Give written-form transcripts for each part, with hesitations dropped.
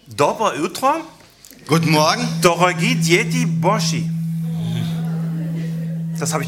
Доброе утро. Guten Morgen. Дорогие дети Божьи. Das habe ich.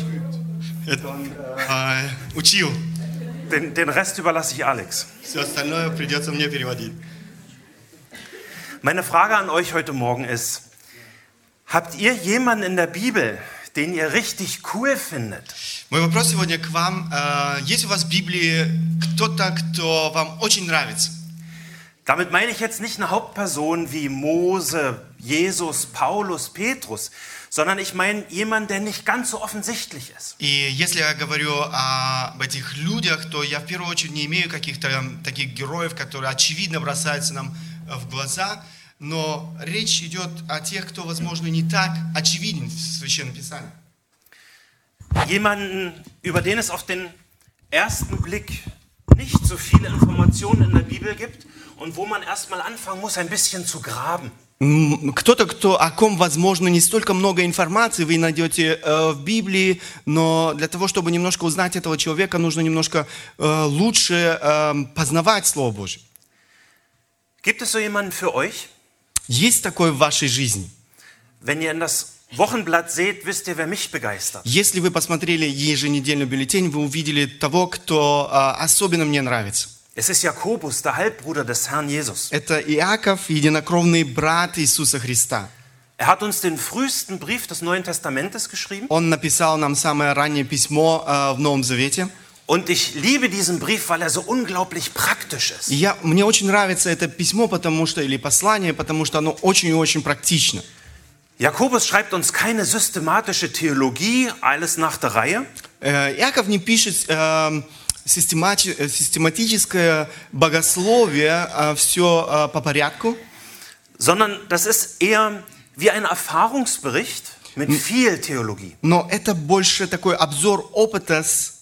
Учил. Den Rest überlasse ich Alex. Все остальное придется мне переводить. Meine Frage an euch heute Morgen ist: Habt ihr jemanden in der Bibel, den ihr richtig cool findet? Мой вопрос сегодня к вам. Есть у вас в Библии кто-то, кто вам очень нравится? Damit meine ich jetzt nicht eine Hauptperson wie Mose, Jesus, Paulus, Petrus, sondern ich meine jemanden, der nicht ganz so offensichtlich ist. И если я говорю об этих людях, то я в первую очередь не имею каких-то таких героев, которые очевидно бросаются нам в глаза, но речь идет о тех, кто, возможно, не так очевиден в Священном Писании. Jemanden, über den es auf den ersten Blick nicht so viele Informationen in der Bibel gibt und wo man erstmal anfangen muss, ein bisschen zu graben. Кто-то, о ком, возможно, не столько много информации вы найдете в Библии, но для того, чтобы немножко узнать этого человека, нужно немножко лучше познавать Слово Божье. Gibt es so jemanden für euch? Есть такое в вашей жизни? Wenn ihr in das Wochenblatt seht, wisst ihr, wer mich begeistert. Если вы посмотрели еженедельный бюллетень, вы увидели того, кто особенно мне нравится. Es ist Jakobus, der Halbbruder des Herrn Jesus. Это Иаков, единокровный брат Иисуса Христа. Er hat uns den frühesten Brief des Neuen Testamentes geschrieben. Он написал нам самое раннее письмо в Новом Завете. Und ich liebe diesen Brief, weil er so unglaublich praktisch ist. Мне очень нравится это письмо, или послание, потому что оно очень-очень практично. Jakobus schreibt uns keine systematische Theologie, alles nach der Reihe. Иаков не пишет систематическое богословие, все по порядку. Sondern das ist eher wie ein Erfahrungsbericht mit viel Theologie. Но это больше такой обзор опыта,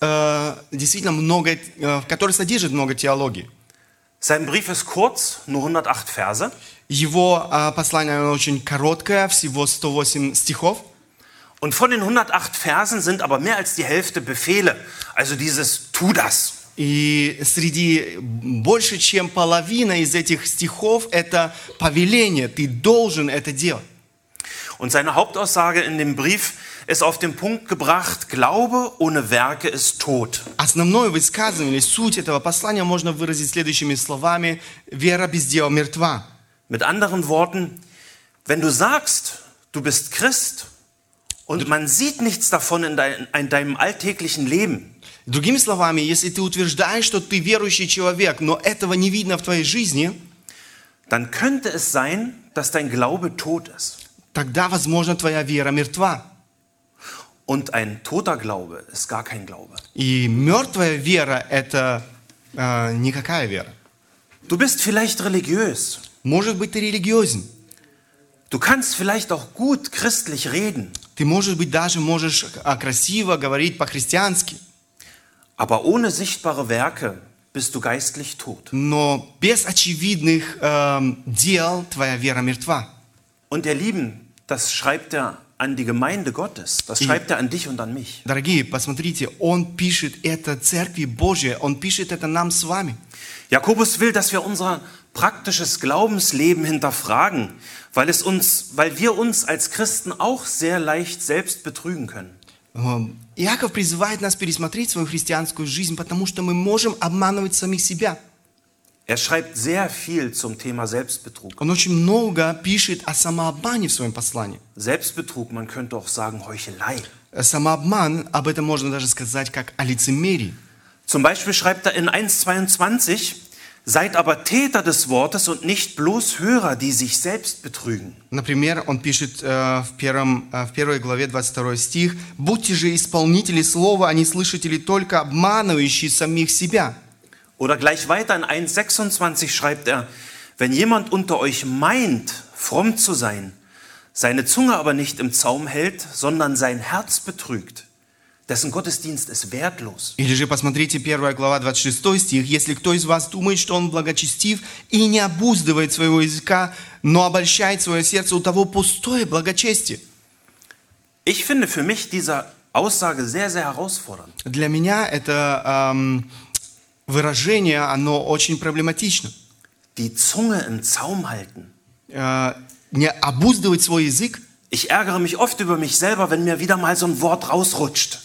действительно который содержит много теологии. Sein Brief ist kurz, nur 108 Verse. Его послание очень короткое, всего 108 стихов. Und von den 108 Versen sind aber mehr als die Hälfte Befehle, also dieses tu das. И среди больше, чем половина из этих стихов это повеление, ты должен это делать. Und seine Hauptaussage in dem Brief ist auf den Punkt gebracht: Glaube ohne Werke ist tot. Основное высказывание, суть этого послания можно выразить следующими словами: вера без дела мертва. Mit anderen Worten, wenn du sagst, du bist Christ und man sieht nichts davon in deinem alltäglichen Leben, Другими словами, если ты утверждаешь, что ты верующий человек, но этого не видно в твоей жизни, dann könnte es sein, dass dein Glaube tot ist. тогда, возможно, твоя вера мертва. Und ein toter Glaube ist gar kein Glaube. И мертвая вера – это никакая вера. Du bist vielleicht religiös. Может быть, ты религиозен. Du kannst vielleicht auch gut christlich reden. Ты, может быть, даже можешь красиво говорить по-христиански. Aber ohne sichtbare Werke bist du geistlich tot. Но без очевидных дел твоя вера мертва. Und ihr Lieben, das schreibt er an die Gemeinde Gottes. Das schreibt er an dich und an mich. Дорогие, посмотрите, он пишет это Церкви Божьей, он пишет это нам с вами. Jakobus will, dass wir unser praktisches Glaubensleben hinterfragen, weil wir uns als Christen auch sehr leicht selbst betrügen können. Иаков призывает нас пересмотреть свою христианскую жизнь, потому что мы можем обманывать самих себя. Er schreibt sehr viel zum Thema Selbstbetrug. Он очень много пишет о самообмане в своем послании. Selbstbetrug, man könnte auch sagen Heuchelei. Самообман, об этом можно даже сказать как о лицемерии. Zum Beispiel schreibt er in 1,22: Seid aber Täter des Wortes und nicht bloß Hörer, die sich selbst betrügen. Например, он пишет в первой главе 22 стих: «Будьте же исполнители слова, а не слышатели только, обманывающие самих себя». Oder gleich weiter in 1,26 schreibt er: Wenn jemand unter euch meint, fromm zu sein, seine Zunge aber nicht im Zaum hält, sondern sein Herz betrügt, dessen Gottesdienst ist wertlos. Или же посмотрите 1 глава 26 стих: «Если кто из вас думает, что он благочестив и не обуздывает своего языка, но обольщает свое сердце, у того пустое благочестие». Ich finde für mich diese Aussage sehr, sehr herausfordernd. Для меня это выражение, оно очень проблематично. Die Zunge im Zaum halten. не обуздывать свой язык. Ich ärgere mich oft über mich selber, wenn mir wieder mal so ein Wort rausrutscht.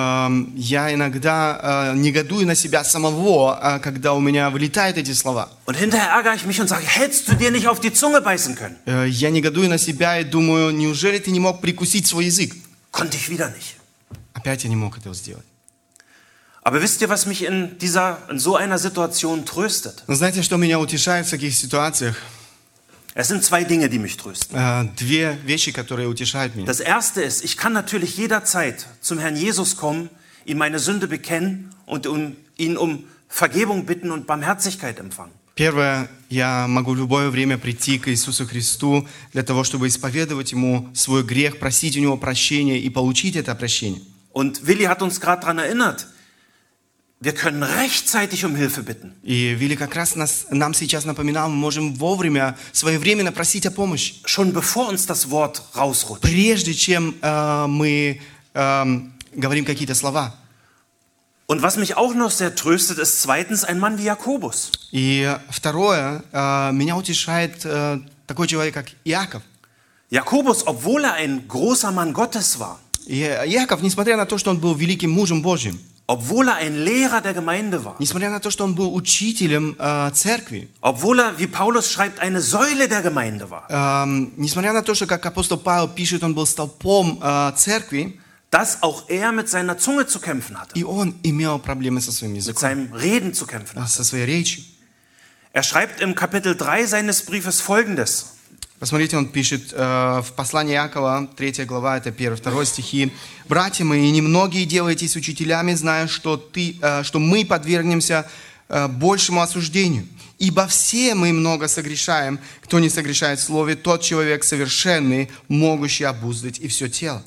Я иногда негодую на себя самого, когда у меня вылетают эти слова. Und hinterher ärgere ich mich und sage, hättest du dir nicht auf die Zunge beißen können? Я негодую на себя и думаю, неужели ты не мог прикусить свой язык? Konnte ich wieder nicht. Опять я не мог этого сделать. Aber wisst ihr, was mich in so einer Situation tröstet? Но знаете, что меня утешает в таких ситуациях? Es sind zwei Dinge, die mich trösten. Две вещи, которые утешают меня. Das erste ist, ich kann natürlich jederzeit zum Herrn Jesus kommen, ihm meine Sünde bekennen und ihn um Vergebung bitten und Barmherzigkeit empfangen. Первое, я могу в любое время прийти к Иисусу Христу для того, чтобы исповедовать Ему свой грех, просить у Него прощения и получить это прощение. Und Willi hat uns gerade daran erinnert, wir können rechtzeitig um Hilfe bitten. И Вилли как раз нам сейчас напоминал, мы можем вовремя, своевременно просить о помощи. Schon bevor uns das Wort rausrutscht. Прежде чем мы говорим какие-то слова. Und was mich auch noch sehr tröstet, ist zweitens ein Mann wie Jakobus. И второе, меня утешает такой человек, как Иаков. Jakobus, obwohl er ein großer Mann Gottes war, И Иаков, несмотря на то, что он был великим мужем Божьим, obwohl er ein Lehrer der Gemeinde war, несмотря на то, что он был учителем церкви, obwohl er, wie Paulus schreibt, eine Säule der Gemeinde war, несмотря на то, что, как апостол Павел пишет, он был столпом церкви, dass auch er mit seiner Zunge zu kämpfen hatte, и он имел проблемы со своим mit языком, seinem Reden zu kämpfen hatte. со своей речью. Er schreibt im Kapitel 3 seines Briefes Folgendes. Посмотрите, он пишет в послании Иакова, 3 глава, это 1-2 стихи. «Братья мои, немногие делайтесь учителями, зная, что мы подвергнемся большему осуждению. Ибо все мы много согрешаем. Кто не согрешает в слове, тот человек совершенный, могущий обуздать и все тело».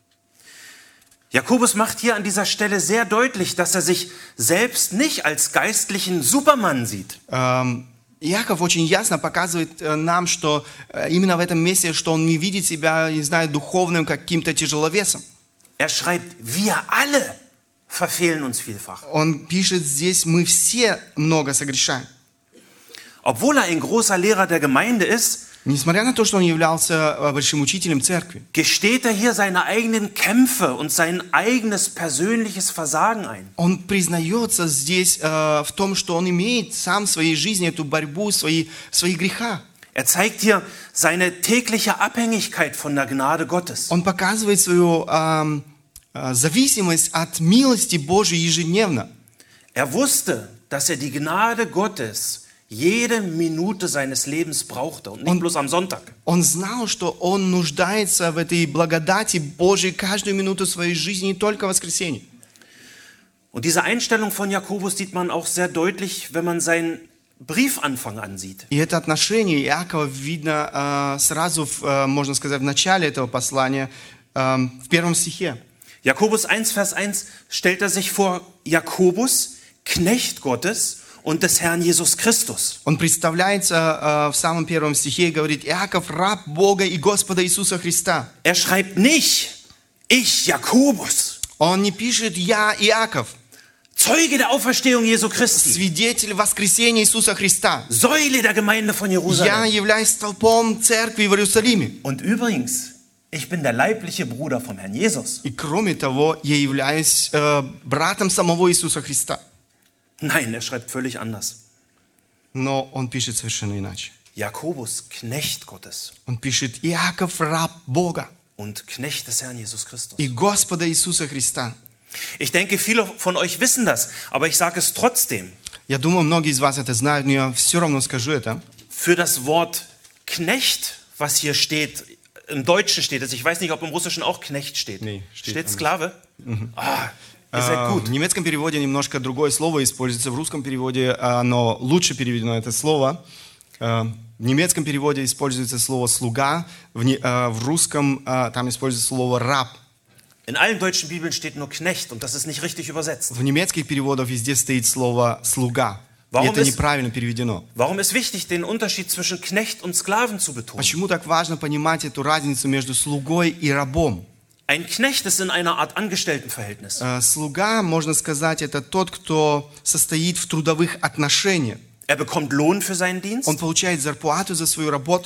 Jakobus macht hier an dieser Stelle sehr deutlich, dass er sich selbst nicht als geistlichen Supermann sieht. Иаков очень ясно показывает нам, что именно в этом месте, что он не видит себя, не знаю, духовным каким-то тяжеловесом. Er schreibt, wir alle verfehlen uns vielfach. Он пишет здесь, мы все много согрешаем. Obwohl er ein großer Lehrer der Gemeinde ist, Несмотря на то, что он являлся большим учителем церкви, gesteht er hier seine eigenen Kämpfe und sein eigenes persönliches Versagen ein. он признается здесь в том, что он имеет сам в своей жизни эту борьбу, свои греха. Er zeigt hier seine tägliche Abhängigkeit von der Gnade Gottes. Он показывает свою зависимость от милости Божией ежедневно. Er wusste, dass er die Gnade Gottes jede Minute seines Lebens brauchte und nicht bloß am Sonntag. Он знал, что он нуждается в этой благодати Божией каждую минуту своей жизни, не только в воскресенье. Und diese Einstellung von Jakobus sieht man auch sehr deutlich, wenn man seinen Briefanfang ansieht. И это отношение Иакова видно сразу, можно сказать, в начале этого послания, в 1 стихе. Jakobus 1, Vers 1 stellt er sich vor, Jakobus, Knecht Gottes und des Herrn Jesus Christus. Он представляется в самом 1 стихе и говорит: Иаков, раб Бога и Господа Иисуса Христа. Er schreibt nicht, ich Jakobus. Он не пишет «Я Иаков», Zeuge der Auferstehung Jesu Christi, свидетель воскресения Иисуса Христа. Säule der Gemeinde von Я Jerusalem. являюсь столпом церкви в Иерусалиме. Und übrigens, ich bin der leibliche Bruder vom Herrn Jesus. И кроме того, я являюсь братом самого Иисуса Христа. Nein, er schreibt völlig anders. Но он пишет совершенно иначе. Jakobus, Knecht Gottes Он пишет «Иаков, раб Бога und Knecht des Herrn Jesus Christus. и Господа Иисуса Христа». Ich denke, viele von euch wissen das, aber ich sage es trotzdem. Я думаю, многие из вас это знают, но я все равно скажу это. Für das Wort Knecht, was hier steht, im Deutschen steht es, ich weiß nicht, ob im Russischen auch Knecht steht. Nee, steht steht anders. Sklave? Ah, ihr seid gut. В немецком переводе немножко другое слово используется, в русском переводе оно лучше переведено, это слово. В немецком переводе используется слово «слуга», в русском там используется слово «раб». In allen deutschen Bibeln steht nur Knecht und das ist nicht richtig übersetzt. В немецких переводах везде стоит слово «слуга». И это неправильно переведено. Warum ist wichtig, den Unterschied zwischen Knecht und Sklaven zu betonen? Почему так важно понимать эту разницу между слугой и рабом? Ein Knecht ist in einer Art Angestelltenverhältnis. Слуга, можно сказать, это тот, кто состоит в трудовых отношениях. Er bekommt Lohn für seinen Dienst. Он получает зарплату за свою работу.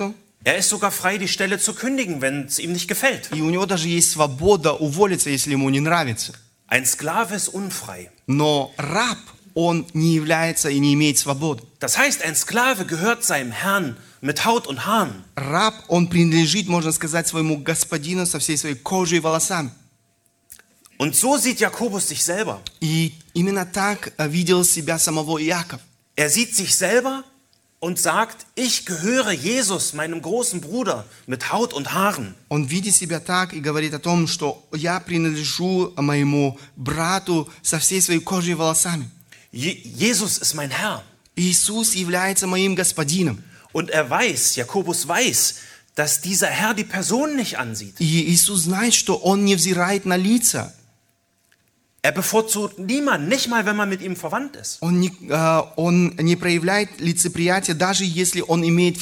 Er ist sogar frei, die Stelle zu kündigen, wenn es ihm nicht gefällt. И у него даже есть свобода уволиться, если ему не нравится. Ein Sklave ist unfrei. Но раб, он не является и не имеет свободы. Das heißt, ein Sklave gehört seinem Herrn mit Haut und Haaren. Раб, он принадлежит, можно сказать, своему господину со всей своей кожей и волосами. Und so sieht Jakobus sich selber. И именно так видел себя самого Иаков. Er sieht sich selber und sagt, ich gehöre Jesus, meinem großen Bruder, mit Haut und Haaren. Он видит себя так и говорит о том, что я принадлежу моему брату со всей своей кожей и волосами. Jesus ist mein Herr. Иисус является моим господином. Und er weiß, Jakobus weiß, dass dieser Herr die Person nicht ansieht. И Иисус знает, что Он не взирает на лица. Er bevorzugt niemanden, nicht mal, wenn man mit ihm verwandt ist. Он не проявляет лицеприятия, даже если он имеет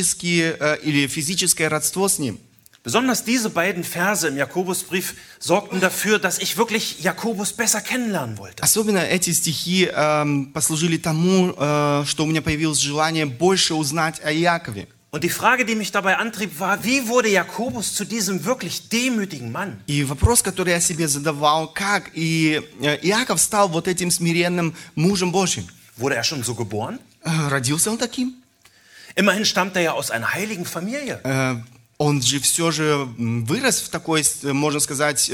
физическое родство с ним. Besonders diese beiden Verse im Jakobusbrief sorgten dafür, dass ich wirklich Jakobus besser kennenlernen wollte. Особенно эти стихи послужили тому, что у меня появилось желание больше узнать о Иакове. Und die Frage, die mich dabei antrieb, war, wie wurde Jakobus zu diesem wirklich demütigen Mann? И вопрос, который я себе задавал, как Иаков стал вот этим смиренным мужем Божьим? Wurde er schon so geboren? Родился он таким? Immerhin stammt er ja aus einer heiligen Familie. Он же все же вырос в такой, можно сказать,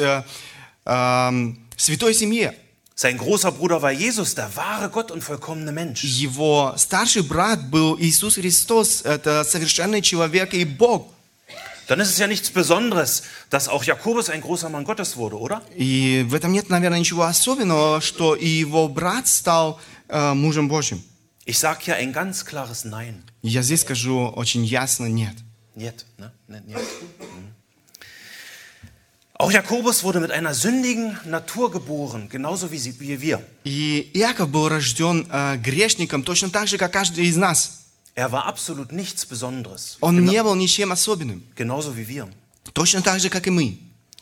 святой семье. Sein großer Bruder war Jesus, der wahre Gott und vollkommene Mensch. Его старший брат был Иисус Христос, это совершенный человек и Бог. Dann ist es ja nichts Besonderes, dass auch Jakobus ein großer Mann Gottes wurde, oder? И в этом нет, наверное, ничего особенного, что и его брат стал мужем Божьим. Ich sage hier ein ganz klares Nein. Я здесь скажу очень ясно нет. Нет, ne? Нет. Auch Jakobus wurde mit einer sündigen Natur geboren, genauso wie wir. И Иаков был рожден грешником, точно так же, как каждый из нас. Er war absolut nichts Besonderes. Он не был ничем особенным. Genauso wie wir. Точно так же, как и мы.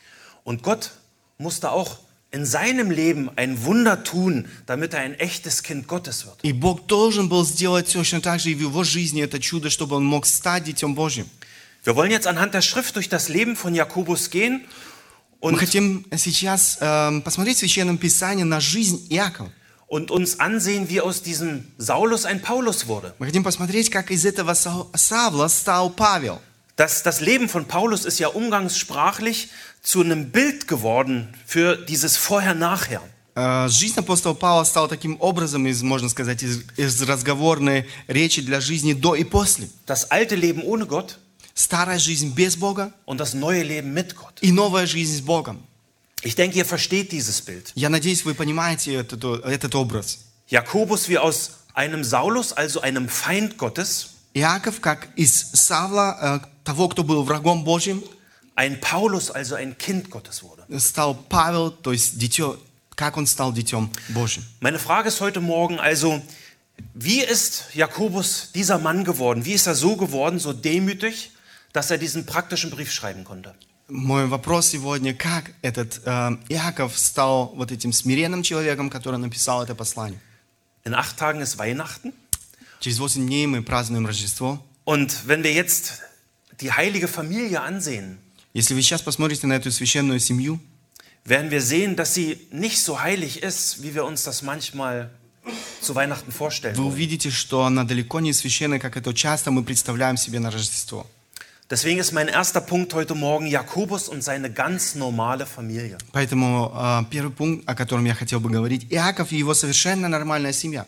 Und Gott musste auch in seinem Leben ein Wunder tun, damit er ein echtes Kind Gottes wird. И Бог должен был сделать точно так же и в его жизни это чудо, чтобы он мог стать детем Божьим. Wir wollen jetzt anhand der Schrift durch das Leben von Jakobus gehen. Мы хотим сейчас посмотреть в Священном Писании на жизнь Иакова. Und uns ansehen, wie aus diesem Saulus ein Paulus wurde. Мы хотим посмотреть, как из этого Савла стал Павел. Das Leben von Paulus ist ja umgangssprachlich zu einem Bild geworden für dieses Vorher-Nachher. Жизнь апостола Павла стала таким образом, можно сказать, из разговорной речи для жизни до и после. Das alte Leben ohne Gott. Старая жизнь без Бога und das neue Leben mit Gott. И новая жизнь с Богом. Ich denke, ihr versteht dieses Bild. Я надеюсь, вы понимаете этот образ. Jakobus wie aus einem Saulus, also einem Feind Gottes. Иаков, как из Савла, того, кто был врагом Божьим. Ein Paulus, also ein Kind Gottes wurde. Стал Павел, то есть как он стал детем Божьим. Meine Frage ist heute Morgen also, wie ist Jakobus dieser Mann geworden? Wie ist er so geworden, so demütig, dass er diesen praktischen Brief schreiben konnte? Мой вопрос сегодня, как этот Иаков стал вот этим смиренным человеком, который написал это послание? In 8 Tagen ist Weihnachten. Через 8 дней мы празднуем Рождество. Und wenn wir jetzt die heilige Familie ansehen, если вы сейчас посмотрите на эту священную семью, werden wir sehen, dass sie nicht so heilig ist, wie wir uns das manchmal zu Weihnachten vorstellen. Вы увидите, что она далеко не священная, как это часто мы представляем себе на Рождество. Deswegen ist mein erster Punkt heute Morgen Jakobus und seine ganz normale Familie. Поэтому первый пункт, о котором я хотел бы говорить, Иаков и его совершенно нормальная семья.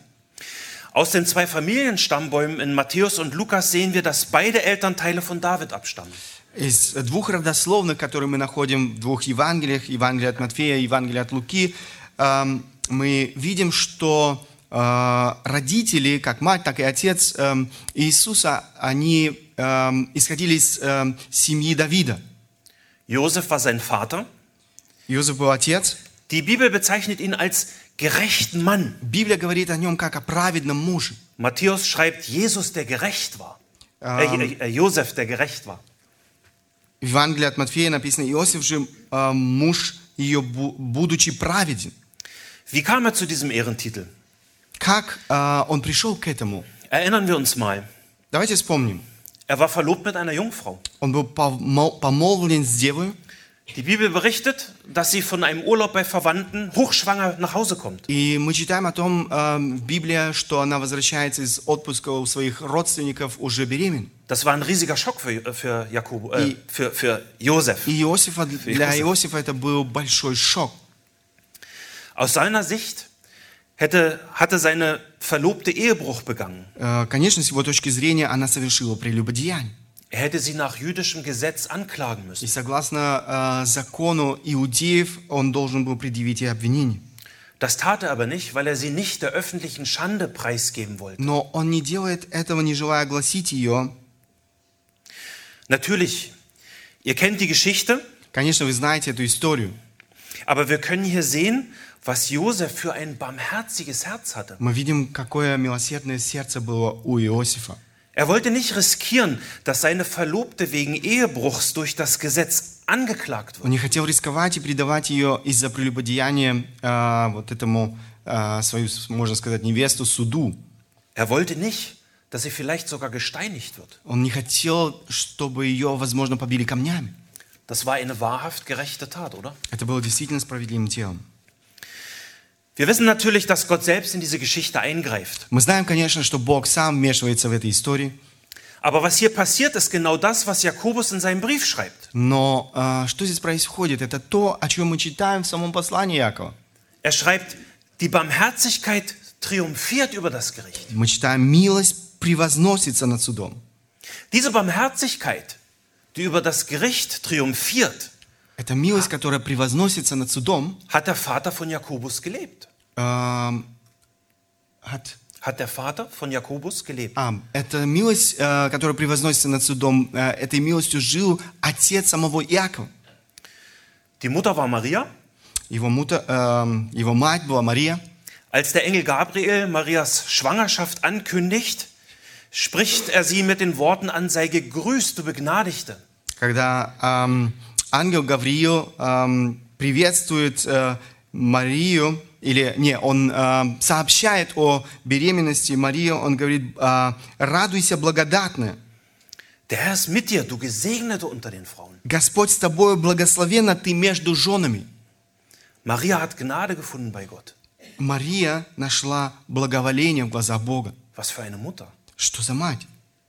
Aus den 2 Familienstammbäumen in Matthäus und Lukas sehen wir, dass beide Elternteile von David abstammen. Из 2 родословных, которые мы находим в 2 Евангелиях, Евангелие от Матфея и Евангелие от Луки, мы видим, что родители, как мать, так и отец Иисуса, они исходили из семьи Давида. Josef war sein Vater. Иосиф был отец. Die Bibel bezeichnet ihn als gerechten Mann. Библия говорит о нем как о праведном муже. Matthäus schreibt Jesus, der gerecht war. Josef, der gerecht war. В Евангелии от Матфея написано: Иосиф же муж ее, будучи праведен. Wie kam er zu diesem Ehrentitel? Как он пришел к этому? Erinnern wir uns mal. Давайте вспомним. Er war verlobt mit einer Jungfrau. Он был помолвлен с девой. Die Bibel berichtet, dass sie von einem Urlaub bei Verwandten hochschwanger nach Hause kommt. И мы читаем о том в Библии, что она возвращается из отпуска у своих родственников уже беременна. Das war ein riesiger Schock für Josef. И для Иосифа это был большой шок. Aus seiner Sicht hatte seine Verlobte Ehebruch begangen. Конечно, с его точки зрения, она совершила прелюбодеяние. Er hätte sie nach jüdischem Gesetz anklagen И müssen. согласно закону иудеев, он должен был предъявить ей обвинение. Das tat er aber nicht, weil er sie nicht der öffentlichen Schande preisgeben wollte. Но он не делает этого, не желая огласить ее. Natürlich, ihr kennt die Geschichte, Конечно, вы знаете эту историю. aber wir können hier sehen, was Josef für ein barmherziges Herz hatte. Мы видим, какое милосердное сердце было у Иосифа. Er wollte nicht riskieren, dass seine Verlobte wegen Ehebruchs durch das Gesetz angeklagt Он wird. не хотел рисковать и предавать ее из-за прелюбодеяния вот этому, свою, можно сказать, невесту суду. Er wollte nicht, dass sie vielleicht sogar gesteinigt wird. Он не хотел, чтобы ее, возможно, побили камнями. Das war eine wahrhaft gerechte Tat, oder? Это было действительно справедливым делом. Wir wissen natürlich, dass Gott selbst in diese Geschichte eingreift. Мы знаем, конечно, что Бог сам вмешивается в этой истории. Aber was hier passiert, ist genau das, was Jakobus in seinem Brief schreibt. Но что здесь происходит? Это то, о чем мы читаем в самом послании Иакова. Er schreibt, die Barmherzigkeit triumphiert über das Gericht. Мы читаем, милость превозносится над судом. Diese Barmherzigkeit, die über das Gericht triumphiert, Эта милость, которая превозносится над судом, hat der Vater von Jakobus gelebt. Hat der Vater von Jakobus gelebt. эта милость, которая превозносится над судом, этой милостью жил отец самого Иакова. Die Mutter war Maria. Его мать была Мария. Als der Engel Gabriel Marias Schwangerschaft ankündigt, spricht er sie mit den Worten an, sei gegrüßt, du Begnadigte. Когда ангел Гавриил приветствует Марию, он сообщает о беременности Марии, он говорит, радуйся, благодатная. Der Herr ist mit dir, du Gesegnete unter den Frauen. Господь с тобою, благословенна ты между женами. Maria hat Gnade gefunden bei Gott. Мария нашла благоволение в глазах Бога. Was für eine Mutter. Что за мать?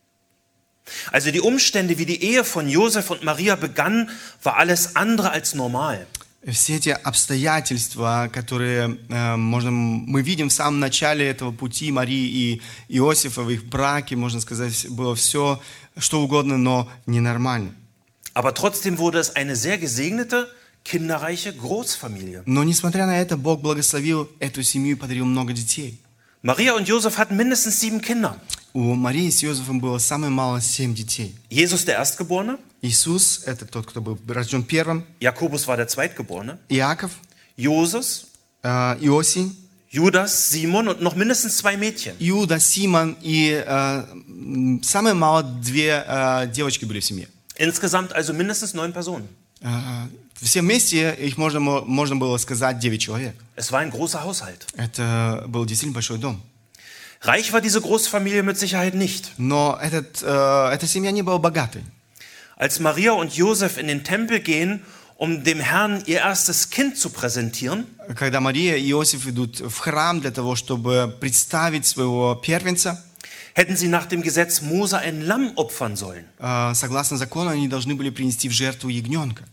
Also die Umstände, wie die Ehe von Josef und Maria begann, war alles andere als normal. Все эти обстоятельства, которые мы видим в самом начале этого пути Марии и Иосифа в их браке, можно сказать, было все, что угодно, но ненормально. Aber trotzdem wurde es eine sehr gesegnete, kinderreiche Großfamilie. Но несмотря на это, Бог благословил эту семью и подарил много детей. Maria und Josef hatten mindestens 7 Kinder. У Марии с Иосифом было самое мало 7 детей. Jesus der Erstgeborene, Иисус – это тот, кто был рожден первым. Jakobus war der Zweitgeborene, Иаков, Joses, Иосий, Judas, Simon und noch mindestens 2 Mädchen. Иуда, Симон и самое мало 2 девочки были в семье. Insgesamt also mindestens 9 Personen. Все вместе их можно было сказать 9 человек. Es war ein großer Haushalt. Это был действительно большой дом. Reich war diese Großfamilie mit Sicherheit nicht. Но эта семья не была богатой. Als Maria und Josef in den Tempel gehen, um dem Herrn ihr erstes Kind zu präsentieren, Когда Мария и Иосиф идут в храм для того, чтобы представить своего первенца, hätten sie nach dem Gesetz Mose ein Lamm opfern sollen. согласно закону, они должны были принести в жертву ягненка.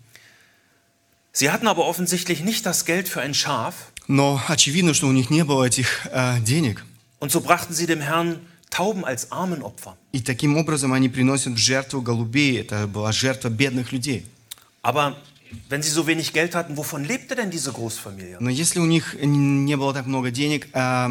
Sie hatten aber offensichtlich nicht das Geld für ein Schaf, Но очевидно, что у них не было этих денег. und so brachten sie dem Herrn Tauben als Armenopfer. И таким образом они приносят в жертву голубей. Это была жертва бедных людей. Aber wenn sie so wenig Geld hatten, wovon lebte denn diese Großfamilie? Но если у них не было так много денег,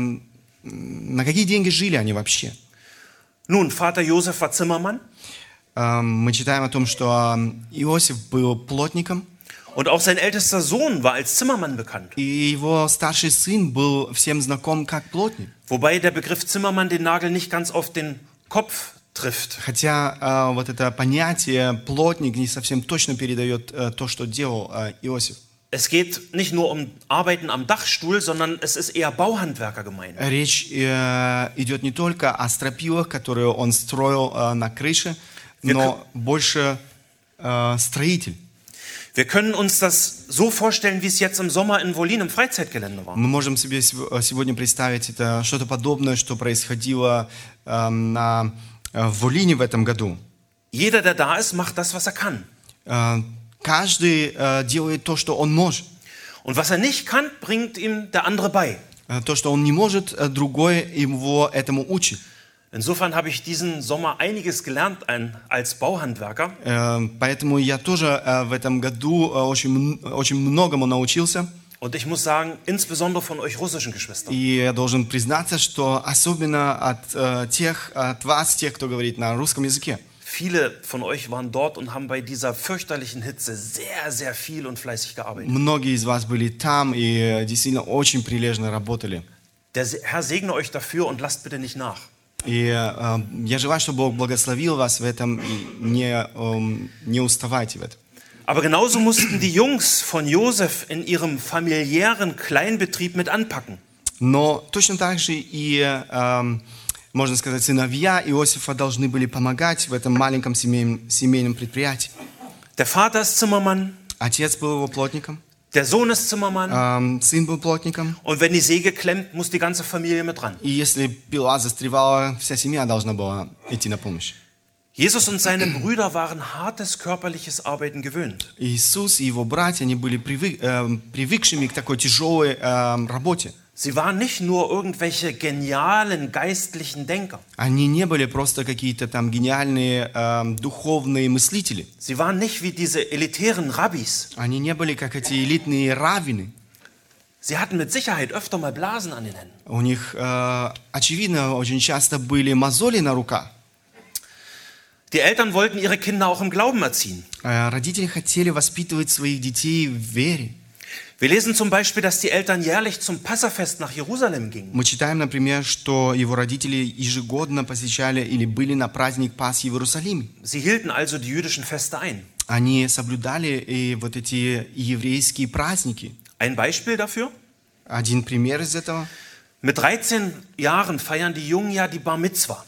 на какие деньги жили они вообще? Nun, Vater Josef war Zimmermann Мы читаем о том, что Иосиф был плотником, und auch sein ältester Sohn war als Zimmermann bekannt. и его старший сын был всем знаком как плотник. Wobei der Begriff Zimmermann den Nagel nicht ganz auf den Kopf trifft. Хотя вот это понятие плотник не совсем точно передает то, что делал Иосиф. Es geht nicht nur um Arbeiten am Dachstuhl, sondern es ist eher Bauhandwerker gemeint. Речь идет не только о стропилах, которые он строил на крыше, но больше строитель. Wir können uns das so vorstellen, wie es jetzt im Sommer in Wollin im Freizeitgelände war. Мы можем себе сегодня представить это что-то подобное, что происходило в Волине в этом году. Jeder, der da ist, macht das, was er kann. Каждый делает то, что он может. Und was er nicht kann, bringt ihm der andere bei. То, что он не может, другой его этому учит. Insofern habe ich diesen Sommer einiges gelernt als Bauhandwerker. Поэтому я тоже в этом году очень многому научился. Und ich muss sagen, insbesondere von euch russischen Geschwistern. И я должен признаться, что особенно от вас, тех, кто говорит на русском языке. Viele von euch waren dort und haben bei dieser fürchterlichen Hitze sehr, sehr viel und fleißig gearbeitet. Многие из вас были там и действительно очень прилежно работали. Der Herr segne euch dafür und lasst bitte nicht nach. И я желаю, чтобы Бог благословил вас в этом и не уставайте в этом. Aber genauso mussten die Jungs von Josef in ihrem familiären Kleinbetrieb mit anpacken. Но точно так же и, можно сказать, сыновья Иосифа должны были помогать в этом маленьком семейном предприятии. Der Vater ist Zimmermann, Отец был его плотником, der Sohn ist Zimmermann. сын был плотником. Und wenn die Säge klemmt, muss die ganze Familie mit dran. И если пила застревала, вся семья должна была идти на помощь. Jesus und seine Brüder waren hartes körperliches Arbeiten gewöhnt. Иисус и его братья, они были привыкшими к такой тяжелой работе. Sie waren nicht nur irgendwelche genialen geistlichen Denker. Они не были просто какие-то там гениальные духовные мыслители. Sie waren nicht wie diese elitären Rabbis. Они не были как эти элитные раввины. Sie hatten mit Sicherheit öfter mal Blasen an den Händen. У них, очевидно, очень часто были мозоли на руках. Die Eltern wollten ihre Kinder auch im Glauben erziehen. Родители хотели воспитывать своих детей в вере. Wir lesen zum Beispiel, dass die Eltern jährlich zum Passafest nach Jerusalem gingen. Мы читаем, например, что его родители ежегодно посещали или были на праздник Пасхи в Иерусалиме. Sie hielten also die jüdischen Feste ein. Они соблюдали и вот эти еврейские праздники. Ein Beispiel dafür? Один пример из этого. Mit 13 Jahren feiern die Jungen ja die Bar Mitzwa.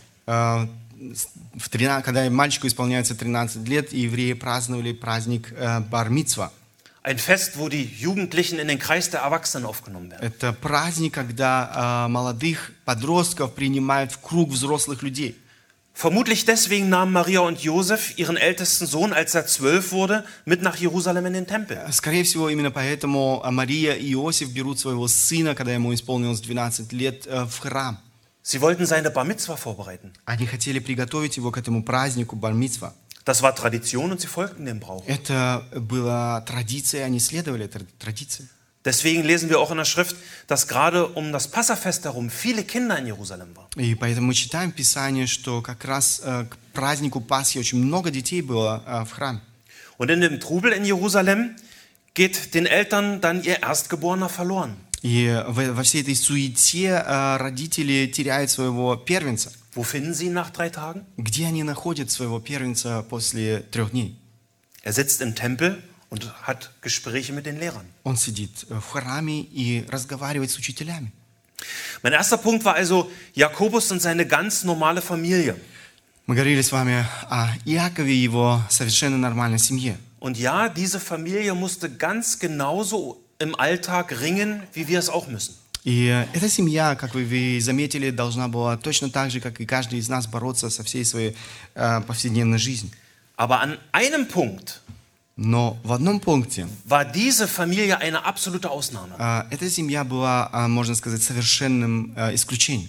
Когда мальчику исполняется 13 лет, евреи праздновали праздник Бар-Мицва. Ein Fest, wo die Jugendlichen in den Kreis der Erwachsenen aufgenommen werden. Это праздник, когда молодых подростков принимают в круг взрослых людей. Vermutlich deswegen nahmen Maria und Josef ihren ältesten Sohn, als er 12 wurde, mit nach Jerusalem in den Tempel. Скорее всего, именно поэтому Мария и Иосиф берут своего сына, когда ему исполнилось 12 лет, в храм. Sie wollten seine Bar Mitzwa vorbereiten. Они хотели приготовить его к этому празднику Бар-Мицва. Das war Tradition und sie folgten dem Brauch. Это была традиция, они следовали этой традиции. Deswegen lesen wir auch in der Schrift, dass gerade um das Passafest herum viele Kinder in Jerusalem waren. И поэтому мы читаем в Писании, что как раз к празднику Пасхи очень много детей было в храме. Und in dem Trubel in Jerusalem geht den Eltern dann ihr Erstgeborener verloren. И во всей этой суете родители теряют своего первенца. Wo finden sie ihn nach 3 Tagen? Где они находят своего первенца после 3 дней? Er sitzt im Tempel und hat Gespräche mit den Lehrern. Он сидит в храме и разговаривает с учителями. Mein erster Punkt war also Jakobus und seine ganz normale Familie. Мы говорили с вами о Иакове и его совершенно нормальной семье. Und ja, diese Familie musste ganz genauso im Alltag ringen, wie wir es auch müssen. И эта семья, как вы заметили, должна была точно так же, как и каждый из нас, бороться со всей своей повседневной жизнью. Aber an einem Punkt Но в одном пункте war diese Familie eine absolute Ausnahme. эта семья была, можно сказать, совершенным исключением.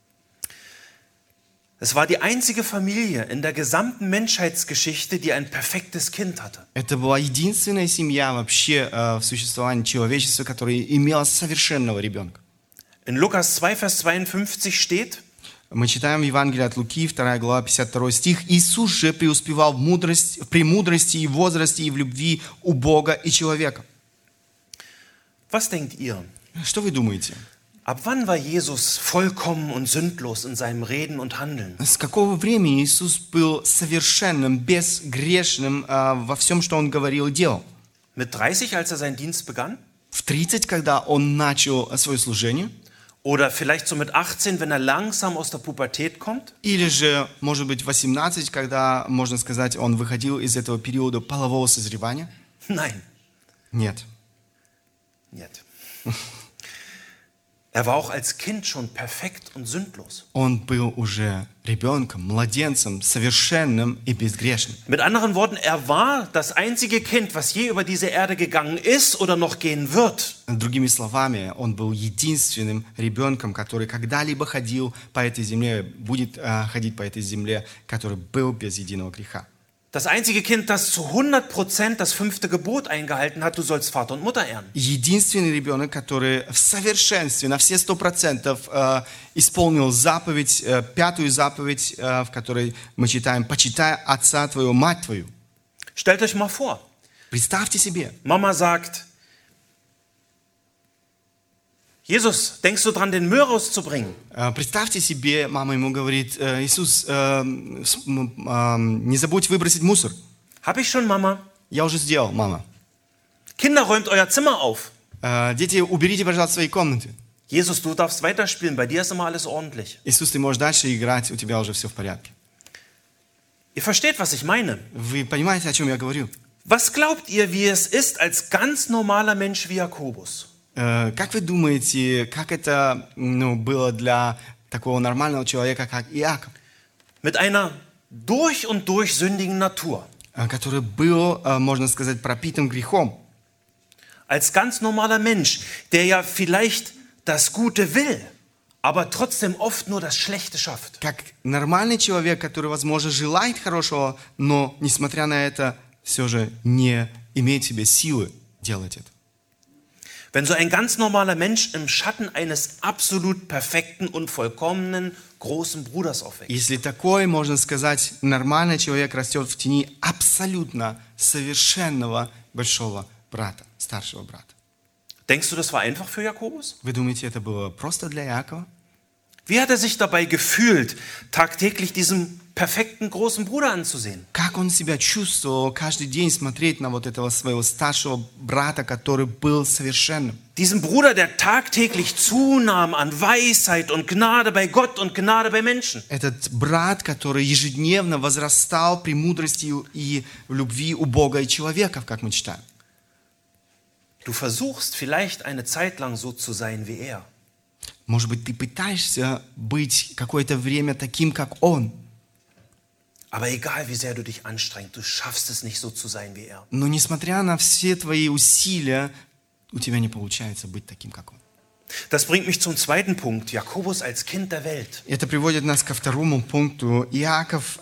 Es war die einzige Familie in der gesamten Menschheitsgeschichte, die ein perfektes Kind hatte. Это была единственная семья вообще в существовании человечества, которая имела совершенного ребенка. In Lukas 2, Vers 52 steht: Мы читаем в Евангелии от Луки, 2 глава, 52 стих. «Иисус же преуспевал в премудрости и возрасте и в любви у Бога и человека». Was denkt ihr? Что вы думаете? Ab wann war Jesus vollkommen und sündlos in seinem Reden und Handeln? С какого времени Иисус был совершенным, безгрешным во всем, что Он говорил и делал? Mit 30, als er seinen Dienst begann? В 30, когда Он начал свое служение? Oder vielleicht so mit 18, wenn er langsam aus der Pubertät kommt? Или же, может быть, 18, когда, можно сказать, он выходил из этого периода полового созревания? Nein. Нет. Нет. Er war auch als Kind schon perfekt und sündlos. Он был уже ребенком, младенцем, совершенным и безгрешным. Mit anderen Worten, er war das einzige Kind, was je über diese Erde gegangen ist oder noch gehen wird. Другими словами, он был единственным ребенком, который когда-либо ходил по этой земле, будет ходить по этой земле, который был без единого греха. Das einzige Kind, das zu 100% das 5. Gebot eingehalten hat, du sollst Vater und Mutter ehren. Единственный ребенок, который в совершенстве, на все 100% исполнил заповедь, 5-ю заповедь, в которой мы читаем: «Почитай отца твоего, мать твою». Stellt euch mal vor, Представьте себе, Mama sagt, Jesus, denkst du dran, den Müll rauszubringen? представьте себе, мама ему говорит: Иисус, не забудь выбросить мусор. Hab ich schon, Mama. Я уже сделал, мама. Kinder, räumt euer Zimmer auf. Дети, уберите, пожалуйста, свои комнаты. Jesus, du darfst weiterspielen, bei dir ist immer alles ordentlich. Иисус, ты можешь дальше играть, у тебя уже все в порядке. Ihr versteht, was ich meine. Вы понимаете, о чем я говорю? Was glaubt ihr, wie es ist, als ganz normaler Mensch wie Jakobus? Как вы думаете, как это было для такого нормального человека, как Иаков, Mit einer durch und durch sündigen Natur. который был, можно сказать, пропитан грехом? Als ganz normaler Mensch, der ja vielleicht das Gute will, aber trotzdem oft nur das Schlechte schafft. Как нормальный человек, который, возможно, желает хорошего, но, несмотря на это, все же не имеет в себе силы делать это. Wenn so ein ganz normaler Mensch im Schatten eines absolut perfekten und vollkommenen großen Bruders aufwächst. Если такой, можно сказать, нормальный человек растет в тени абсолютно совершенного большого брата, старшего брата. Denkst du, das war einfach für Jakobus? Вы думаете, это было просто для Иакова? Wie hat er sich dabei gefühlt, tagtäglich diesem perfekten großen Bruder anzusehen? Как он себя чувствовал каждый день смотреть на вот этого своего старшего брата, который был совершенным? Diesem Bruder, der tagtäglich zunahm an Weisheit und Gnade bei Gott und Gnade bei Menschen. Этот брат, который ежедневно возрастал в премудрости и в любви у Бога и человеков, как мы читаем. Du versuchst vielleicht eine Zeit lang so zu sein wie er. Может быть, ты пытаешься быть какое-то время таким, как он. Aber egal, wie sehr du dich anstrengst, du schaffst es nicht so zu sein wie er. Но несмотря на все твои усилия, у тебя не получается быть таким, как он. Das bringt mich zum zweiten Punkt, Jakobus als Kind der Welt. Это приводит нас ко второму пункту. Иаков,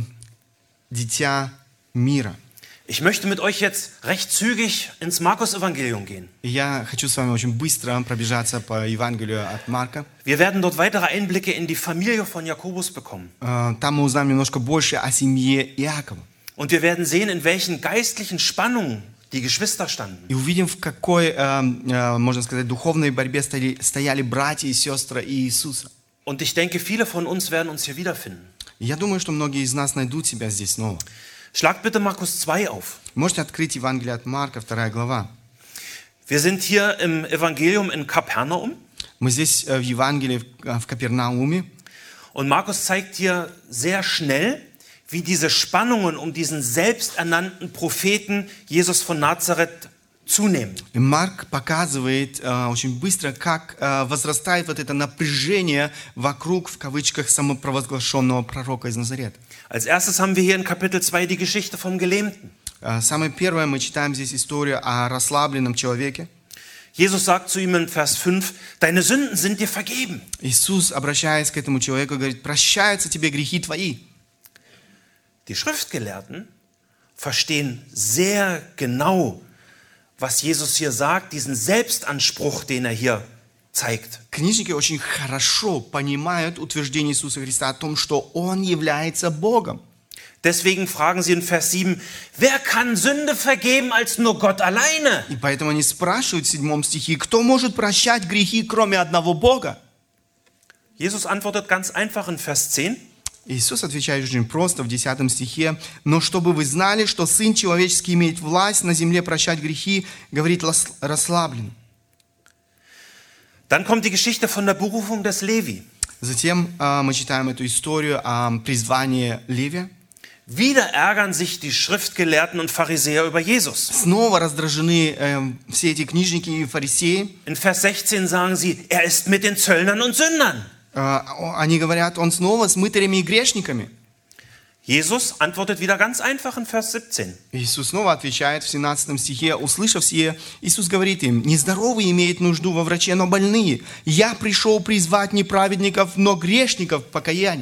дитя мира. Ich möchte mit euch jetzt recht zügig ins Markus-Evangelium gehen. Я хочу с вами очень быстро пробежаться по Евангелию от Марка. Wir werden dort weitere Einblicke in die Familie von Jakobus bekommen. Там мы узнаем немножко больше о семье Иакова. Und wir werden sehen, in welchen geistlichen Spannungen die Geschwister standen. И увидим, в какой, можно сказать, духовной борьбе стояли братья и сестры Иисуса. Und ich denke, viele von uns werden uns hier wiederfinden. Я думаю, что многие из нас найдут себя здесь снова. Schlagt bitte Markus 2 auf. Можете открыть Евангелие от Марка, 2 глава. Wir sind hier im Evangelium in Kapernaum. Мы здесь в Евангелии в Капернауме. Und Markus zeigt hier sehr schnell, wie diese Spannungen um diesen selbsternannten Propheten Jesus von Nazareth zunehmen. И Марк показывает очень быстро, как возрастает вот это напряжение вокруг, в кавычках, самопровозглашенного пророка из Назарета. Als erstes haben wir hier in Kapitel 2 die Geschichte vom Gelähmten. Самое первое, мы читаем здесь историю о расслабленном человеке. Jesus sagt zu ihm in Vers 5, deine Sünden sind dir vergeben. Иисус, обращаясь к этому человеку, говорит: прощаются тебе грехи твои. Die Schriftgelehrten verstehen sehr genau, was Jesus hier sagt, diesen Selbstanspruch, den er hier zeigt. Книжники очень хорошо понимают утверждение Иисуса Христа о том, что Он является Богом. Deswegen fragen sie in Vers 7, wer kann Sünde vergeben als nur Gott alleine? И поэтому они спрашивают в 7 стихе: кто может прощать грехи, кроме одного Бога? Jesus antwortet ganz einfach in Vers 10. Иисус отвечает очень просто в 10 стихе: «Но чтобы вы знали, что Сын Человеческий имеет власть на земле прощать грехи, говорит расслабленно». Dann kommt die Geschichte von der Berufung des Levi. Затем мы читаем эту историю о призвании Левия. Wieder ärgern sich die Schriftgelehrten und Pharisäer über Jesus. Снова раздражены все эти книжники и фарисеи. In Vers 16 sagen sie, er ist mit den Zöllnern und Sündern. Они говорят, он снова с мытарями и грешниками. Jesus antwortet wieder ganz einfach in Vers 17. Иисус снова отвечает в 17 стихе, услышав сие, Иисус говорит им: «Нездоровые имеют нужду во враче, но больные. Я пришел призвать не праведников, но грешников к покаянию».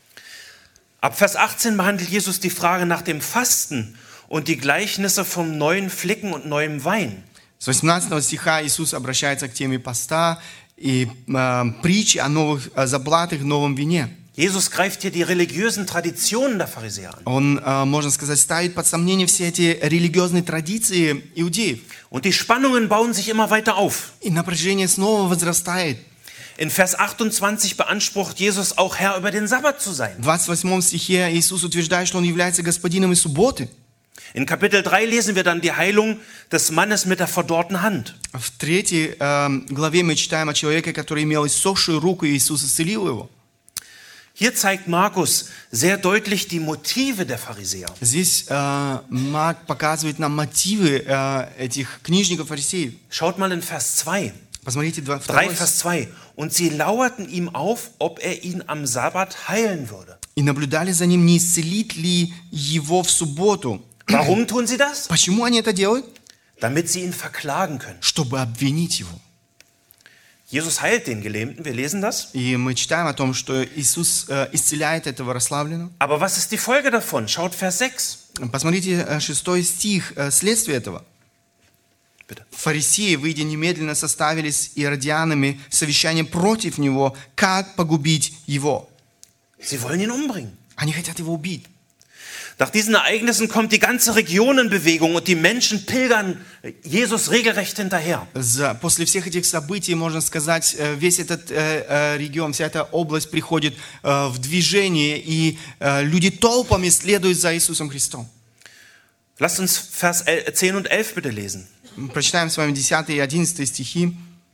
Ab Vers 18 behandelt Jesus die Frage nach dem Fasten und die Gleichnisse vom neuen Flicken und neuem Wein. С 18 стиха Иисус обращается к теме поста и притчи о новых заплатах, новом вине. Jesus greift hier die religiösen Traditionen der Pharisäer an. Он, можно сказать, ставит под сомнение все эти религиозные традиции иудеев. Und die Spannungen bauen sich immer weiter auf. И напряжение снова возрастает. In Vers 28 beansprucht Jesus auch Herr über den Sabbat zu sein. В 28 стихе Иисус утверждает, что Он является господином и субботы. In Kapitel 3 lesen wir dann die Heilung des Mannes mit der verdorrten Hand. В 3 главе мы читаем о человеке, который имел иссохшую руку, и Иисус исцелил его. Hier zeigt Markus sehr deutlich die Motive der Pharisäer. Здесь Марк показывает нам мотивы этих книжников, фарисеев. Schaut mal in Vers 2. Посмотрите 3 2. Vers 2. Und sie lauerten ihm auf, ob er ihn am Sabbat heilen würde. И наблюдали за ним, не исцелит ли его в субботу. Warum tun sie das? Почему они это делают? Damit sie ihn verklagen können. Чтобы обвинить его. Jesus heilt den Gelähmten, wir lesen das. И мы читаем о том, что Иисус исцеляет этого расслабленного. Aber was ist die Folge davon? Schaut Vers 6. Посмотрите 6 стих, следствие этого. Bitte. Фарисеи, выйдя немедленно, составили с иродианами совещание против него, как погубить его. Sie wollen ihn umbringen. Они хотят его убить. Nach diesen Ereignissen kommt die ganze Region in Bewegung und die Menschen pilgern Jesus regelrecht hinterher. После всех этих событий, можно сказать, весь этот регион, вся эта область приходит в движение, и люди толпами следуют за Иисусом Христом. Lasst uns Vers 10 und 11 bitte lesen. Прочитаем с вами 10 и 11 стихи.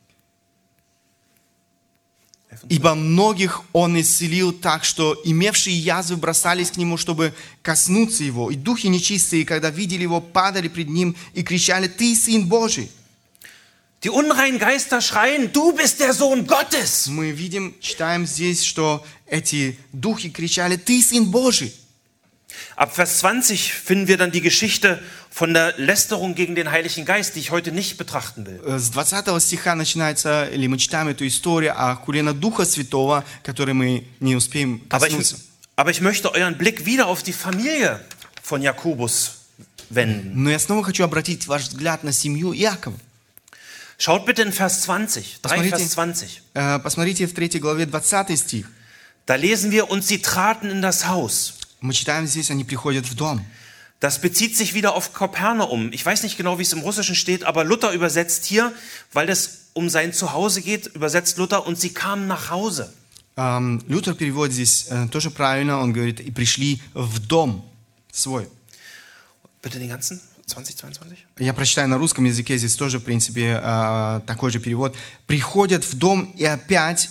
«Ибо многих Он исцелил так, что имевшие язвы бросались к Нему, чтобы коснуться Его. И духи нечистые, когда видели Его, падали пред Ним и кричали: Ты Сын Божий!» Die unreinen Geister schreien, du bist der Sohn Gottes. Мы видим, читаем здесь, что эти духи кричали: Ты Сын Божий! Ab Vers 20 finden wir dann die Geschichte von der Lästerung gegen den Heiligen Geist, die ich heute nicht betrachten will. С 20 стиха начинается, или мы читаем эту историю о хуре на Духа Святого, который мы не успеем коснуться. Aber ich möchte euren Blick wieder auf die Familie von Jakobus wenden. Но я снова хочу обратить ваш взгляд на семью Иакова. Schaut bitte in Vers 20, 3 Vers 20. Посмотрите в 3 главе 20 стих. Da lesen wir, und sie traten in das Haus. Мы читаем здесь, они приходят в дом. Das bezieht sich wieder auf Kapernaum. Ich weiß nicht genau, wie es im Russischen steht, aber Luther übersetzt hier, weil es um sein Zuhause geht, übersetzt Luther, und sie kamen nach Hause. Лютер переводит здесь тоже правильно, он говорит: и пришли в дом свой. Bitte den ganzen, 2022? Я прочитаю на русском языке, здесь тоже, в принципе, такой же перевод. «Приходят в дом, и опять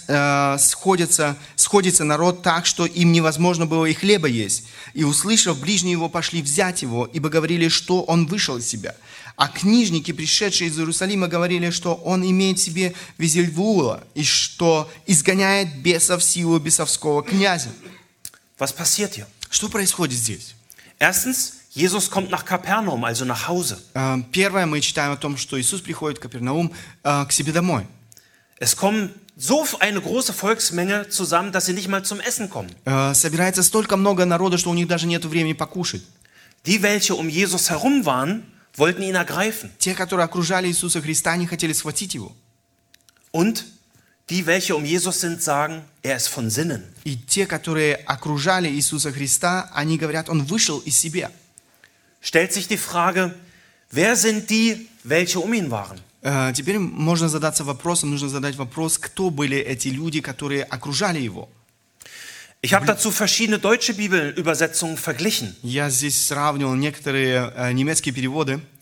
сходится народ так, что им невозможно было и хлеба есть. И, услышав, ближние его пошли взять его, ибо говорили, что он вышел из себя. А книжники, пришедшие из Иерусалима, говорили, что он имеет в себе Везельвула, и что изгоняет бесов силу бесовского князя». Was passiert hier? Что происходит здесь? Erstens, Jesus kommt nach Kapernaum, also nach Hause. Первое, мы читаем о том, что Иисус приходит в Капернаум к себе домой. Es kommen so eine große Volksmenge zusammen, dass sie nicht mal zum Essen kommen. Собирается столько много народа, что у них даже нет времени покушать. Die, welche um Jesus herum waren, wollten ihn ergreifen. Те, которые окружали Иисуса Христа, не хотели схватить его. Und die, welche um Jesus sind, sagen, er ist von Sinnen. И те, которые окружали Иисуса Христа, они говорят: он вышел из себя. Stellt sich die Frage, wer sind die, welche um ihn waren? Теперь можно задаться вопросом, нужно задать вопрос, кто были эти люди, которые окружали его. Ich habe dazu verschiedene deutsche Bibelübersetzungen verglichen. Я здесь сравнивал некоторые немецкие переводы.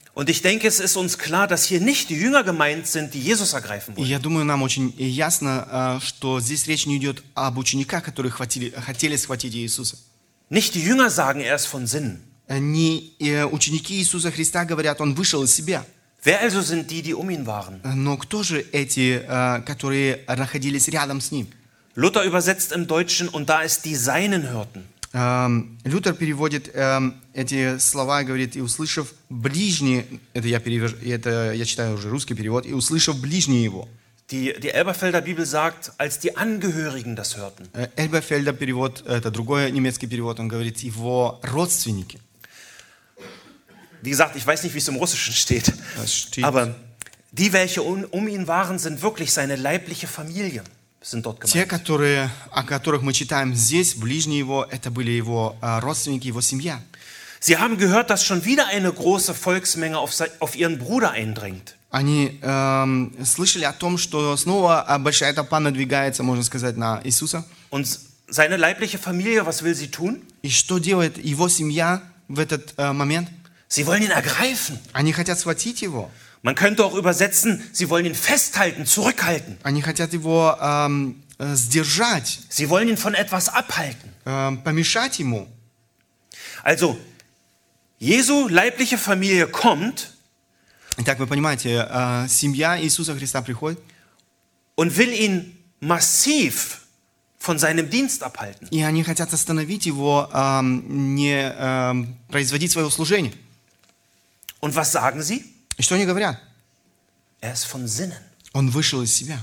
Und ich denke, es ist uns klar, dass hier nicht die Jünger gemeint sind, die Jesus ergreifen И wollen. я думаю, нам очень ясно, что здесь речь не идет об учениках, которые хотели схватить Иисуса. Nicht die Jünger sagen, er ist von Sinnen. Не ученики Иисуса Христа говорят, Он вышел из себя. Wer also sind die, die um ihn waren? Но кто же эти, которые находились рядом с Ним? Luther übersetzt im Deutschen, und da es die Seinen hörten. Лютер переводит эти слова и говорит, и услышав ближние, это я читаю уже русский перевод, и услышав ближние его. Die Elberfelder Bibel sagt, als die Angehörigen das hörten. Эльберфельда перевод, это другой немецкий перевод, он говорит, его родственники. Wie gesagt, ich weiß nicht, wie es im Russischen steht, aber die, welche um ihn waren, sind wirklich seine leibliche Familie, sind dort Те, gemeint. о которых мы читаем здесь, ближние его, это были его родственники, его семья. Sie haben gehört, dass schon wieder eine große Volksmenge auf ihren Bruder eindringt. Они слышали о том, что снова большая толпа надвигается, можно сказать, на Иисуса. Und seine leibliche Familie, was will sie tun? И что делает его семья в этот момент? Sie wollen ihn ergreifen. Они хотят схватить его. Man könnte auch übersetzen, sie wollen ihn festhalten, zurückhalten. Они хотят его сдержать, Sie wollen ihn von etwas abhalten. помешать ему. Also, Jesu leibliche Familie kommt Итак, вы понимаете, семья Иисуса Христа приходит, und will ihn massiv von seinem Dienst abhalten. и они хотят остановить его, не производить свое служение. Und was sagen sie? И что они говорят? Er ist von Sinnen. Он вышел из себя.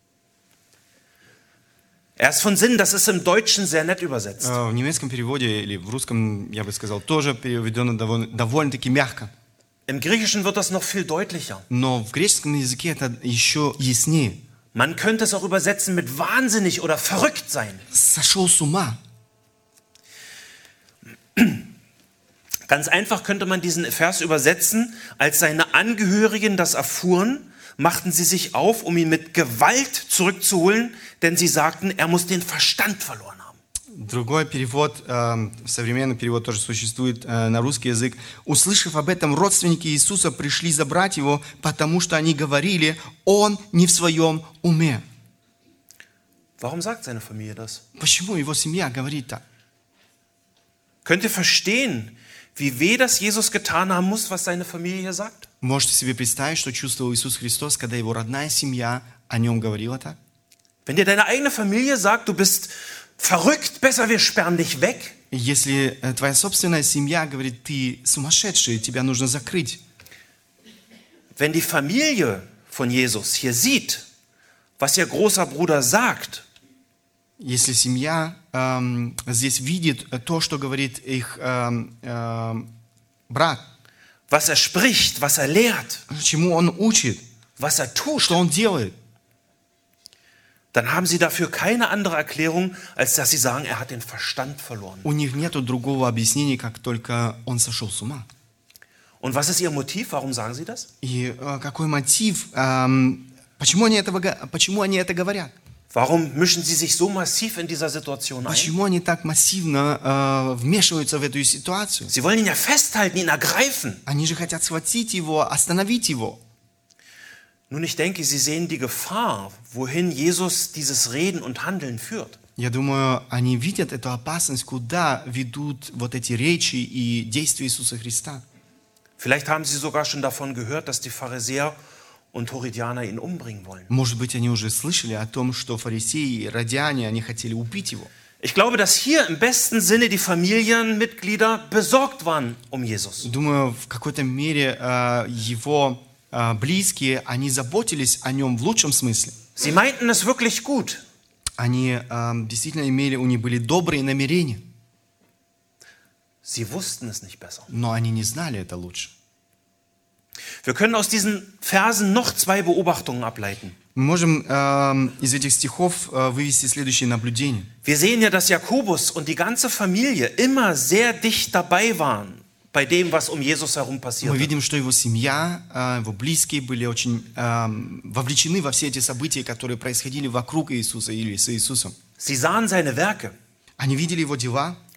Er ist von Sinnen, das ist im Deutschen sehr nett übersetzt. В немецком переводе или в русском, я бы сказал, тоже переведено довольно-таки мягко. Im Griechischen wird das noch viel deutlicher. Но в греческом языке это еще яснее. Man könnte es auch übersetzen mit wahnsinnig oder verrückt sein. Сошел с ума. Ganz einfach könnte man diesen Vers übersetzen, als seine Angehörigen das erfuhren, machten sie sich auf, um ihn mit Gewalt zurückzuholen, denn sie sagten, er muss den Verstand verloren haben. Другой перевод, современный перевод тоже существует на русский язык. Услышав об этом, родственники Иисуса пришли забрать его, потому что они говорили, он не в своем уме. Warum sagt seine Familie das? Почему его семья говорит так? Könnt ihr verstehen, wie weh das Jesus getan haben muss, was seine Familie hier sagt? Можете себе представить, что чувствовал Иисус Христос, когда его родная семья о нем говорила так? Wenn dir deine eigene Familie sagt, du bist verrückt, besser wir sperren dich weg. Если твоя собственная семья говорит, ты сумасшедший, тебя нужно закрыть. Wenn die Familie von Jesus hier sieht, was ihr großer Bruder sagt, Если семья здесь видит то, что говорит их брат, was er spricht, was er lehrt, чему он учит, was er tut, что он делает, dann haben sie dafür keine andere Erklärung, als dass sie sagen, er hat den Verstand verloren. у них нет другого объяснения, как только он сошел с ума. Und was ist ihr Motiv? Warum sagen sie das? И какой мотив? Почему они это говорят? Warum mischen sie sich so massiv in dieser Situation ein? Почему они так массивно вмешиваются в эту ситуацию? Sie wollen ihn ja festhalten, ihn ergreifen. Они же хотят схватить его, остановить его. Nun, ich denke, sie sehen die Gefahr, wohin Jesus dieses Reden und Handeln führt. Я думаю, они видят эту опасность, куда ведут вот эти речи и действия Иисуса Христа. Vielleicht haben sie sogar schon davon gehört, dass die Pharisäer und Herodianer ihn umbringen wollen. Может быть, они уже слышали о том, что фарисеи и радиане, они хотели убить его. Ich glaube, dass hier im besten Sinne die Familienmitglieder besorgt waren um Jesus. Думаю, в какой-то мере его близкие, они заботились о нем в лучшем смысле. Sie meinten es wirklich gut. Они действительно у них были добрые намерения, Sie wussten es nicht besser. но они не знали это лучше. Wir können aus diesen Versen noch zwei Beobachtungen ableiten. Мы можем из этих стихов вывести следующее наблюдение. Wir sehen ja, dass Jakobus und die ganze Familie immer sehr dicht dabei waren bei dem, was um Jesus herum Мы passierte. видим, что его семья, его близкие были очень вовлечены во все эти события, которые происходили вокруг Иисуса или с Иисусом. Sie sahen seine Werke. Они видели его дела,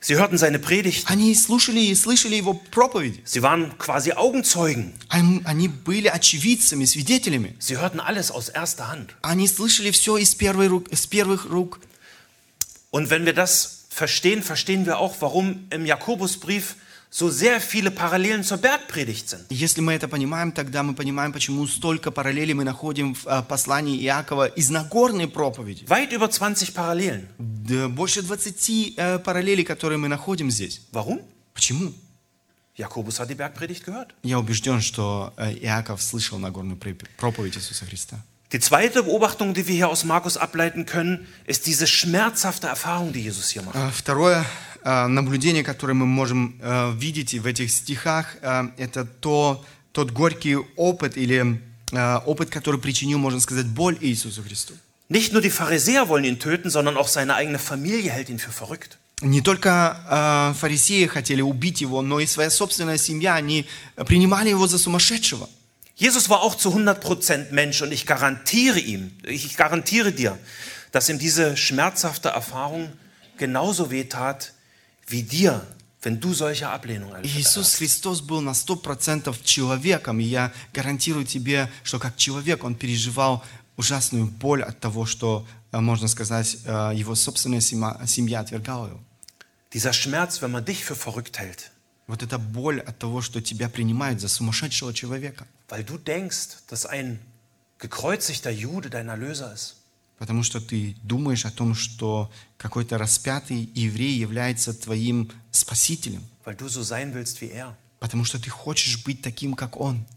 Sie hörten seine Predigten. Они слушали и слышали его проповеди. Sie waren quasi Augenzeugen. Они были очевидцами, свидетелями. Sie hörten alles aus erster Hand. Они слышали все из первых рук. Und wenn wir das verstehen, verstehen wir auch, warum im Jakobusbrief so sehr viele Parallelen zur Bergpredigt sind. Если мы это понимаем, тогда мы понимаем, почему столько параллелей мы находим в послании Иакова из Нагорной проповеди. Weit über 20 Parallelen. Да, больше 20 параллелей, которые мы находим здесь. Warum? Почему? Jakobus hat die Bergpredigt gehört. Я убежден, что Иаков слышал Нагорную проповедь Иисуса Христа. Die zweite Beobachtung, die wir hier aus Markus ableiten können, ist diese schmerzhafte Erfahrung, die Jesus hier macht. Второе наблюдение, которое мы можем видеть в этих стихах, это тот горький опыт или опыт, который причинил, можно сказать, боль Иисусу Христу. Nicht nur die Pharisäer wollen ihn töten, sondern auch seine eigene Familie hält ihn für verrückt. Не только фарисеи хотели убить его, но и своя собственная семья, они принимали его за сумасшедшего. Jesus war auch zu 100% Mensch und ich garantiere dir, dass ihm diese schmerzhafte Erfahrung genauso wehtat wie dir, wenn du solche Ablehnung erlebst. Иисус Христос был на 100% человеком, и я гарантирую тебе, что как человек он переживал ужасную боль от того, что, можно сказать, его собственная семья отвергала его. Dieser Schmerz, wenn man dich für verrückt hält. Вот эта боль от того, что тебя принимают за сумасшедшего человека. Weil du denkst, dass ein gekreuzigter Jude dein Erlöser ist. Потому что ты думаешь о том, что какой-то распятый еврей является твоим спасителем. Weil du so sein willst wie er. Потому что ты хочешь быть таким, как он.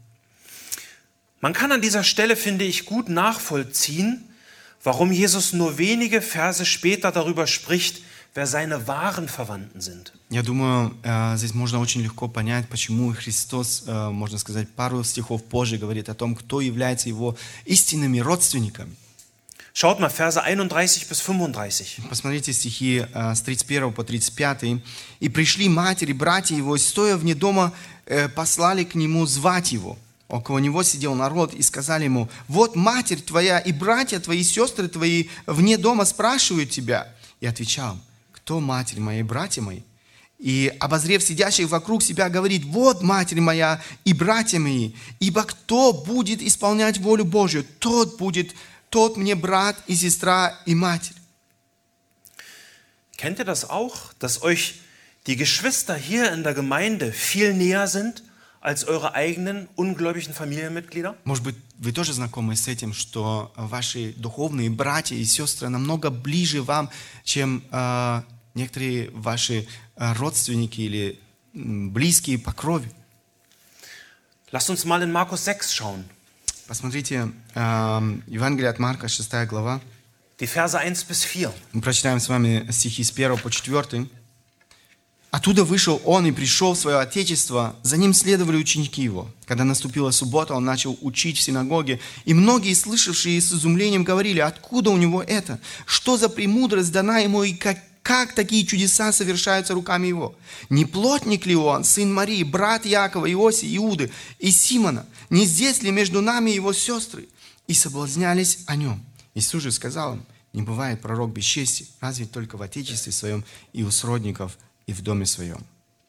Man kann an dieser Stelle, finde ich, gut nachvollziehen, warum Jesus nur wenige Verse später darüber spricht, wer seine wahren Verwandten sind. Я думаю, здесь можно очень легко понять, почему Христос, можно сказать, пару стихов позже говорит о том, кто является его истинными родственниками. Schaut mal, Verse 31 bis 35. Посмотрите стихи с 31 по 35. «И пришли матери, братья его, и стоя вне дома, послали к нему звать его. Около него сидел народ, и сказали ему: вот матерь твоя и братья твои, и сестры твои вне дома спрашивают тебя». И отвечал: кто матерь моя и братья мои? И, обозрев сидящих вокруг себя, говорит: вот матерь моя и братья мои, ибо кто будет исполнять волю Божью, тот мне брат и сестра и матерь. Kennt ihr das auch, dass euch die Geschwister hier in der Gemeinde viel näher sind als eure eigenen ungläubigen Familienmitglieder? Может быть, вы тоже знакомы с этим, что ваши духовные братья и сестры намного ближе вам, чем некоторые ваши родственники или близкие по крови. Lasst uns mal in Markus 6 schauen. Посмотрите, Евангелие от Марка, 6 глава. Die Verse 1 bis 4. Мы прочитаем с вами стихи с 1 по 4. «Оттуда вышел он и пришел в свое отечество, за ним следовали ученики его. Когда наступила суббота, он начал учить в синагоге, и многие, слышавшие с изумлением, говорили: откуда у него это? Что за премудрость дана ему, и как такие чудеса совершаются руками его? Не плотник ли он, сын Марии, брат Иакова, Иосии, Иуды и Симона? Не здесь ли между нами его сестры?» И соблазнялись о нем. Иисус же сказал им: не бывает пророк без чести, разве только в отечестве своем и у сродников, и в доме своем.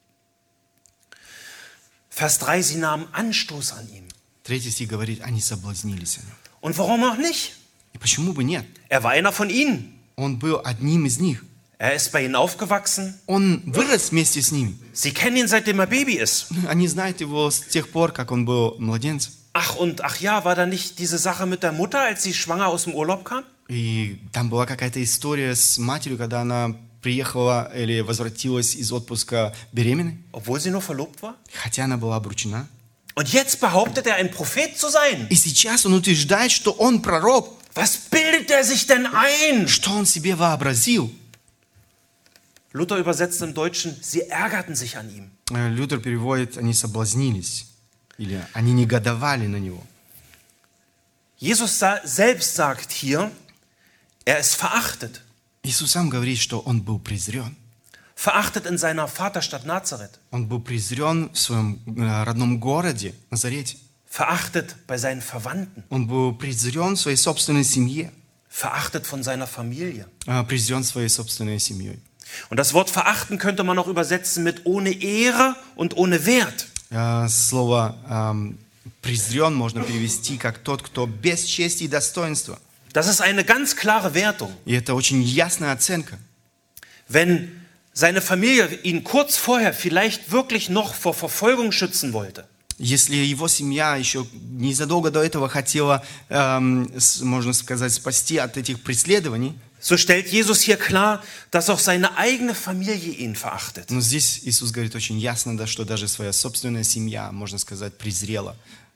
Vers 3, sie nahmen Anstoß an ihm. 3 стих говорит, они соблазнились о нем. Und warum auch nicht? И почему бы нет? Er war einer von ihnen. Он был одним из них. Er ist bei ihnen aufgewachsen. Он вырос вместе с ними. Sie kennen ihn, seitdem er Baby ist. Они знают его с тех пор, как он был младенцем. Ach ja, war da nicht diese Sache mit der Mutter, als sie schwanger aus dem Urlaub kam? И там была какая-то история с матерью, когда она приехала или возвратилась из отпуска беременной. Obwohl sie nur verlobt war? Хотя она была обручена. Und jetzt behauptet er, ein Prophet zu sein. И сейчас он утверждает, что он пророк. Was bildet er sich denn ein? Что он себе вообразил? Luther übersetzt im Deutschen, sie ärgerten sich an ihm. Лютер переводит, они соблазнились. Или они негодовали на него. Jesus selbst sagt hier, er ist verachtet. Иисус сам говорит, что он был презрен. Verachtet in seiner Vaterstadt Nazareth. Он был презрен в своем родном городе, Назарете. Verachtet bei seinen Verwandten. Он был презрен в своей собственной семье. Verachtet von seiner Familie. Презрен своей собственной семьей. Und das Wort verachten könnte man auch übersetzen mit ohne Ehre und ohne Wert. Слово презрен можно перевести как тот, кто без чести и достоинства. Das ist eine ganz klare Wertung. И это очень ясная оценка. Wenn seine Familie ihn kurz vorher vielleicht wirklich noch vor Verfolgung schützen wollte, Если его семья еще незадолго до этого хотела, можно сказать, спасти от этих преследований, so stellt Jesus hier klar, dass auch seine eigene Familie ihn verachtet. но здесь Иисус говорит очень ясно, да, что даже своя собственная семья, можно сказать, презрела.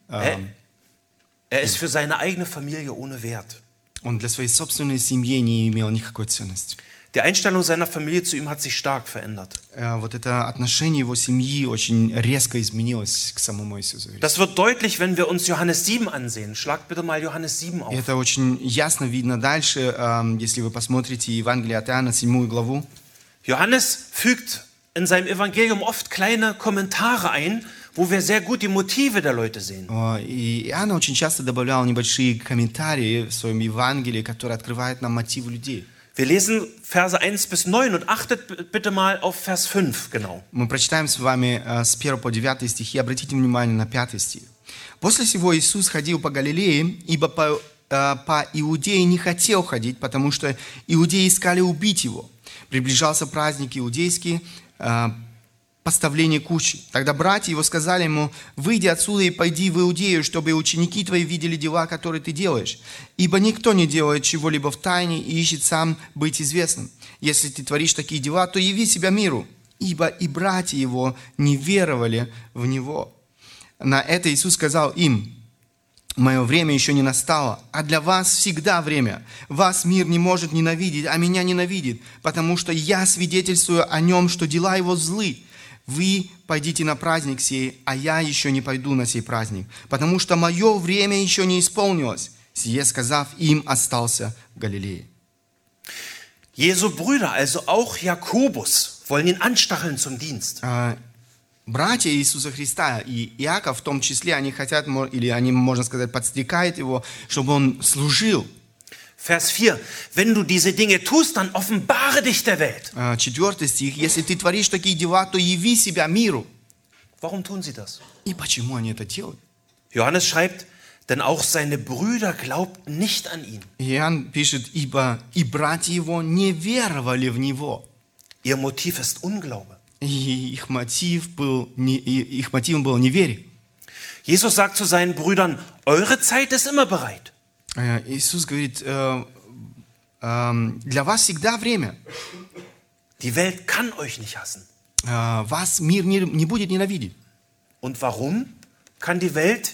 Er ist für seine eigene Familie ohne Wert. Он для своей собственной семьи не имел никакой ценности. Die Einstellung seiner Familie zu ihm hat sich stark verändert. Вот это отношение его семьи очень резко изменилось к самому Иисусу. Das wird deutlich, wenn wir uns Johannes 7 ansehen. Schlagt bitte mal Johannes 7 auf. И это очень ясно видно дальше, если вы посмотрите Евангелие от Иоанна, 7 главу. Johannes fügt in seinem Evangelium oft kleine Kommentare ein, wo wir sehr gut die Motive der Leute sehen. И Иоанн очень часто добавлял небольшие комментарии в своем Евангелии, которые открывают нам мотивы людей. Wir lesen Verse 1 bis 9 und achtet bitte mal auf Vers 5 genau. Мы прочитаем с вами с 1 по 9 стихи, обратите внимание на 5 стих. «После сего Иисус ходил по Галилее, ибо по Иудее не хотел ходить, потому что иудеи искали убить его. Приближался праздник иудейский, поставление кучи. Тогда братья его сказали ему: выйди отсюда и пойди в Иудею, чтобы ученики твои видели дела, которые ты делаешь. Ибо никто не делает чего-либо в тайне и ищет сам быть известным. Если ты творишь такие дела, то яви себя миру. Ибо и братья его не веровали в него». На это Иисус сказал им: «Мое время еще не настало, а для вас всегда время. Вас мир не может ненавидеть, а меня ненавидит, потому что я свидетельствую о нем, что дела его злы. Вы пойдите на праздник сей, а я еще не пойду на сей праздник, потому что мое время еще не исполнилось». Сие сказав, им остался в Галилее. Jesu Brüder, also auch Jakobus, wollen ihn anstacheln zum Dienst. Братья Иисуса Христа и Иаков в том числе, они хотят, или они, можно сказать, подстрекают его, чтобы он служил. Vers 4. Wenn du diese Dinge tust, dann offenbare dich der Welt. 4 стих. «Если ты творишь такие дела, то яви себя миру». Warum tun sie das? И почему они это делают? Johannes schreibt, denn auch seine Brüder glaubten nicht an ihn. Иоанн пишет: «Ибо и братья его не веровали в него». Ihr Motiv ist Unglaube. И их мотивом было неверие. Jesus sagt zu seinen Brüdern, eure Zeit ist immer bereit. Иисус говорит: для вас всегда время. Die Welt kann euch nicht hassen. Вас мир не будет ненавидеть. Und warum kann die Welt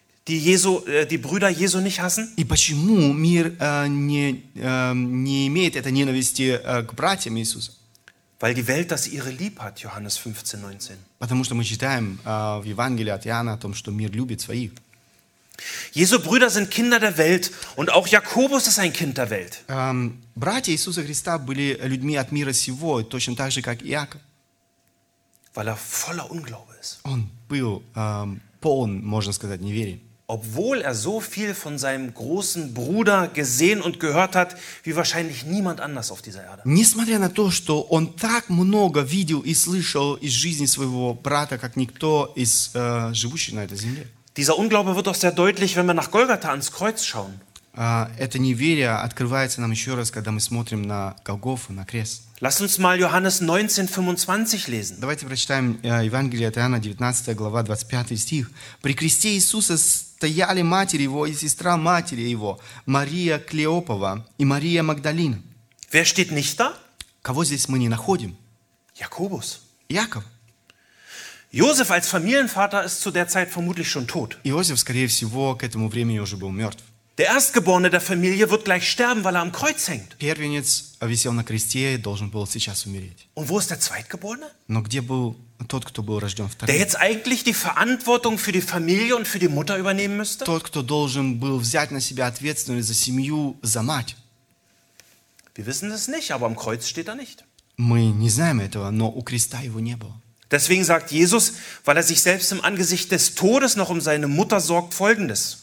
die Brüder Jesu nicht hassen? И почему мир не имеет этой ненависти к братьям Иисуса? Weil die Welt das ihre lieb hat, Johannes 15, 19. Потому что мы читаем в Евангелии от Иоанна о том, что мир любит своих. Jesu Brüder sind Kinder der Welt und auch Jakobus ist ein Kind der Welt. Братья Иисуса Христа были людьми от мира сего, точно так же, как Иаков. Weil er voller Unglaube ist. Он был полон, можно сказать, неверия. Obwohl er so viel von seinem großen Bruder gesehen und gehört hat, wie wahrscheinlich niemand anders auf dieser Erde. Несмотря на то, что он так много видел и слышал из жизни своего брата, как никто из живущих на этой земле. Dieser Unglaube wird auch sehr deutlich, wenn wir nach Golgatha ans Kreuz schauen. Это неверие открывается нам еще раз, когда мы смотрим на Голгофу, на крест. Lasst uns mal Johannes 19,25 lesen. Давайте прочитаем Евангелие от Иоанна, 19 глава, 25 стих. «При кресте Иисуса стояли матери его и сестра матери его, Мария Клеопова и Мария Магдалина». Wer steht nicht da? Кого здесь мы не находим? Jakobus. Иаков. Josef als Familienvater ist zu der Zeit vermutlich schon tot. Иосиф, скорее всего, к этому времени уже был мертв. Der Erstgeborene der Familie wird gleich sterben, weil er am Kreuz hängt. Первенец висел на кресте и должен был сейчас умереть. Und wo ist der Zweitgeborene? Но где был тот, кто был рожден Der вторым? jetzt eigentlich die Verantwortung für die Familie und für die Mutter übernehmen müsste? Тот, кто должен был взять на себя ответственность за семью, за мать. Wir wissen es nicht, aber am Kreuz steht er nicht. Мы не знаем этого, но у креста его не было. Deswegen sagt Jesus, weil er sich selbst im Angesicht des Todes noch um seine Mutter sorgt, Folgendes.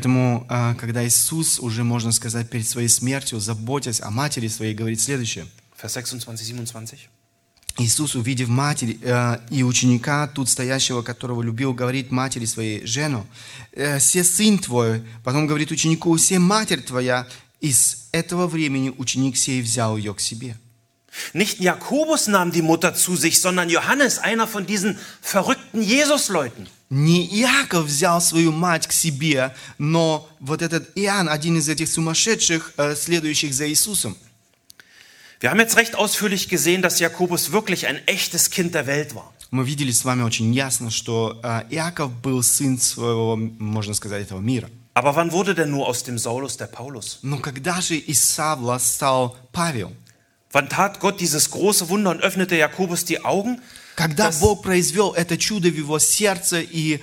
Поэтому, когда Иисус уже, можно сказать, перед своей смертью, заботясь о матери своей, говорит следующее. Vers 26, 27. Иисус, увидев матерь и ученика, тут стоящего, которого любил, говорит матери своей: «Жену, се сын твой». Потом говорит ученику: «Се матерь твоя». И с этого времени ученик сей взял ее к себе. Nicht Jakobus nahm die Mutter zu sich, sondern Johannes, einer von diesen verrückten Jesus-Leuten. Не Иаков взял свою мать к себе, но вот этот Иоанн, один из этих сумасшедших, следующих за Иисусом. Wir haben jetzt recht ausführlich gesehen, dass Jakobus wirklich ein echtes Kind der Welt war. Мы видели с вами очень ясно, что Иаков был сын своего, можно сказать, этого мира. Aber wann wurde denn nur aus dem Saulus der Paulus? Но когда же из Савла стал Павел? Wann tat Gott dieses große Wunder und öffnete Jakobus die Augen? Когда Бог произвел это чудо в его сердце и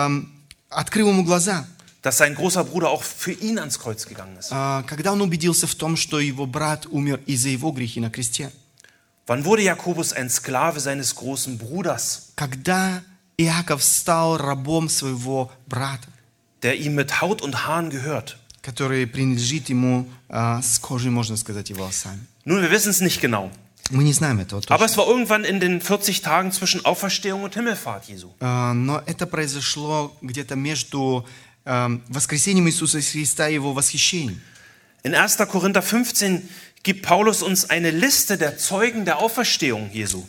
открыл ему глаза, Dass sein großer Bruder auch für ihn ans Kreuz gegangen ist. когда он убедился в том, что его брат умер из-за его грехи на кресте. Wann wurde Jakobus ein Sklave seines großen Bruders, Когда Иаков стал рабом своего брата, der ihm mit Haut und Haaren gehört? который принадлежит ему с кожей, можно сказать, и волосами. Nun, wir wissen es nicht genau. Мы не знаем этого Aber точно. es war irgendwann in den 40 Tagen zwischen Auferstehung und Himmelfahrt Jesu. Но это произошло где-то между воскресением Иисуса Христа и его восхищением. In 1. Korinther 15 gibt Paulus uns eine Liste der Zeugen der Auferstehung Jesu.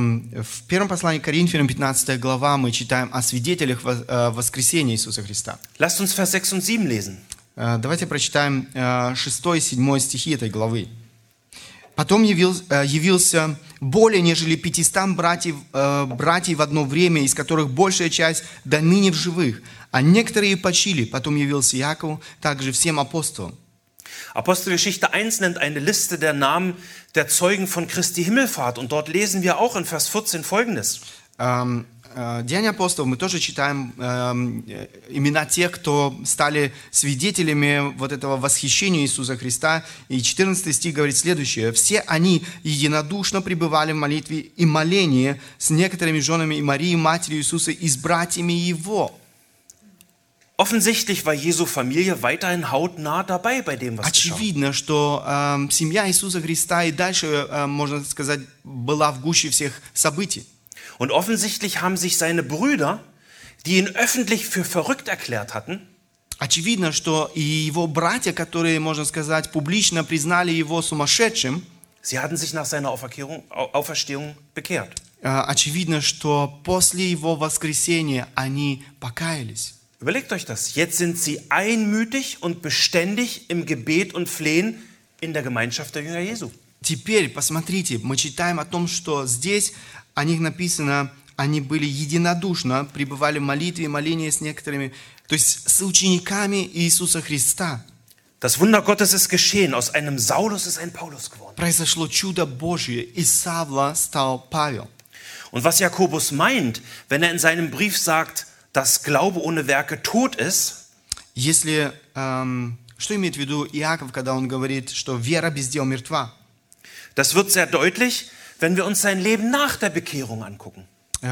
В первом послании к Коринфянам, 15 глава, мы читаем о свидетелях воскресения Иисуса Христа. Lasst uns Vers 6 und 7 lesen. Давайте прочитаем 6 и 7 стихи этой главы. «Потом явился более нежели 500 братьев в одно время, из которых большая часть до ныне в живых, а некоторые почили. Потом явился Иакову, также всем апостолам». Apostelgeschichte 1 nennt eine Liste der Namen der Zeugen von Christi Himmelfahrt. Und dort lesen wir auch in Vers 14 Folgendes. Деяния апостолов мы тоже читаем имена тех, кто стали свидетелями вот этого восхищения Иисуса Христа. И 14 стих говорит следующее: «Все они единодушно пребывали в молитве и молении с некоторыми женами и Марией, матерью Иисуса, и с братьями Его». Offensichtlich war Jesu Familie weiterhin hautnah dabei bei dem, was geschah. Очевидно, что семья Иисуса Христа и дальше, можно сказать, была в гуще всех событий. Und offensichtlich haben sich seine Brüder, die ihn öffentlich für verrückt erklärt hatten, Очевидно, что и его братья, которые, можно сказать, публично признали его сумасшедшим, sie hatten sich nach seiner Auferstehung bekehrt. очевидно, что после его воскресения они покаялись. Überlegt euch das. Jetzt sind sie einmütig und beständig im Gebet und Flehen in der Gemeinschaft der Jünger Jesu. Теперь, посмотрите, мы читаем о том, что здесь о них написано, они были единодушно, пребывали в молитве и молении с некоторыми, то есть с учениками Иисуса Христа. Das Wunder Gottes ist geschehen. Aus einem Saulus ist ein Paulus geworden. Произошло чудо Божье, из Савла стал Павел. Und was Jakobus meint, wenn er in seinem Brief sagt, dass Glaube ohne Werke tot ist, Если, что имеет в виду Иаков, когда он говорит, что вера без дел мертва? das wird sehr deutlich, wenn wir uns sein Leben nach der Bekehrung angucken.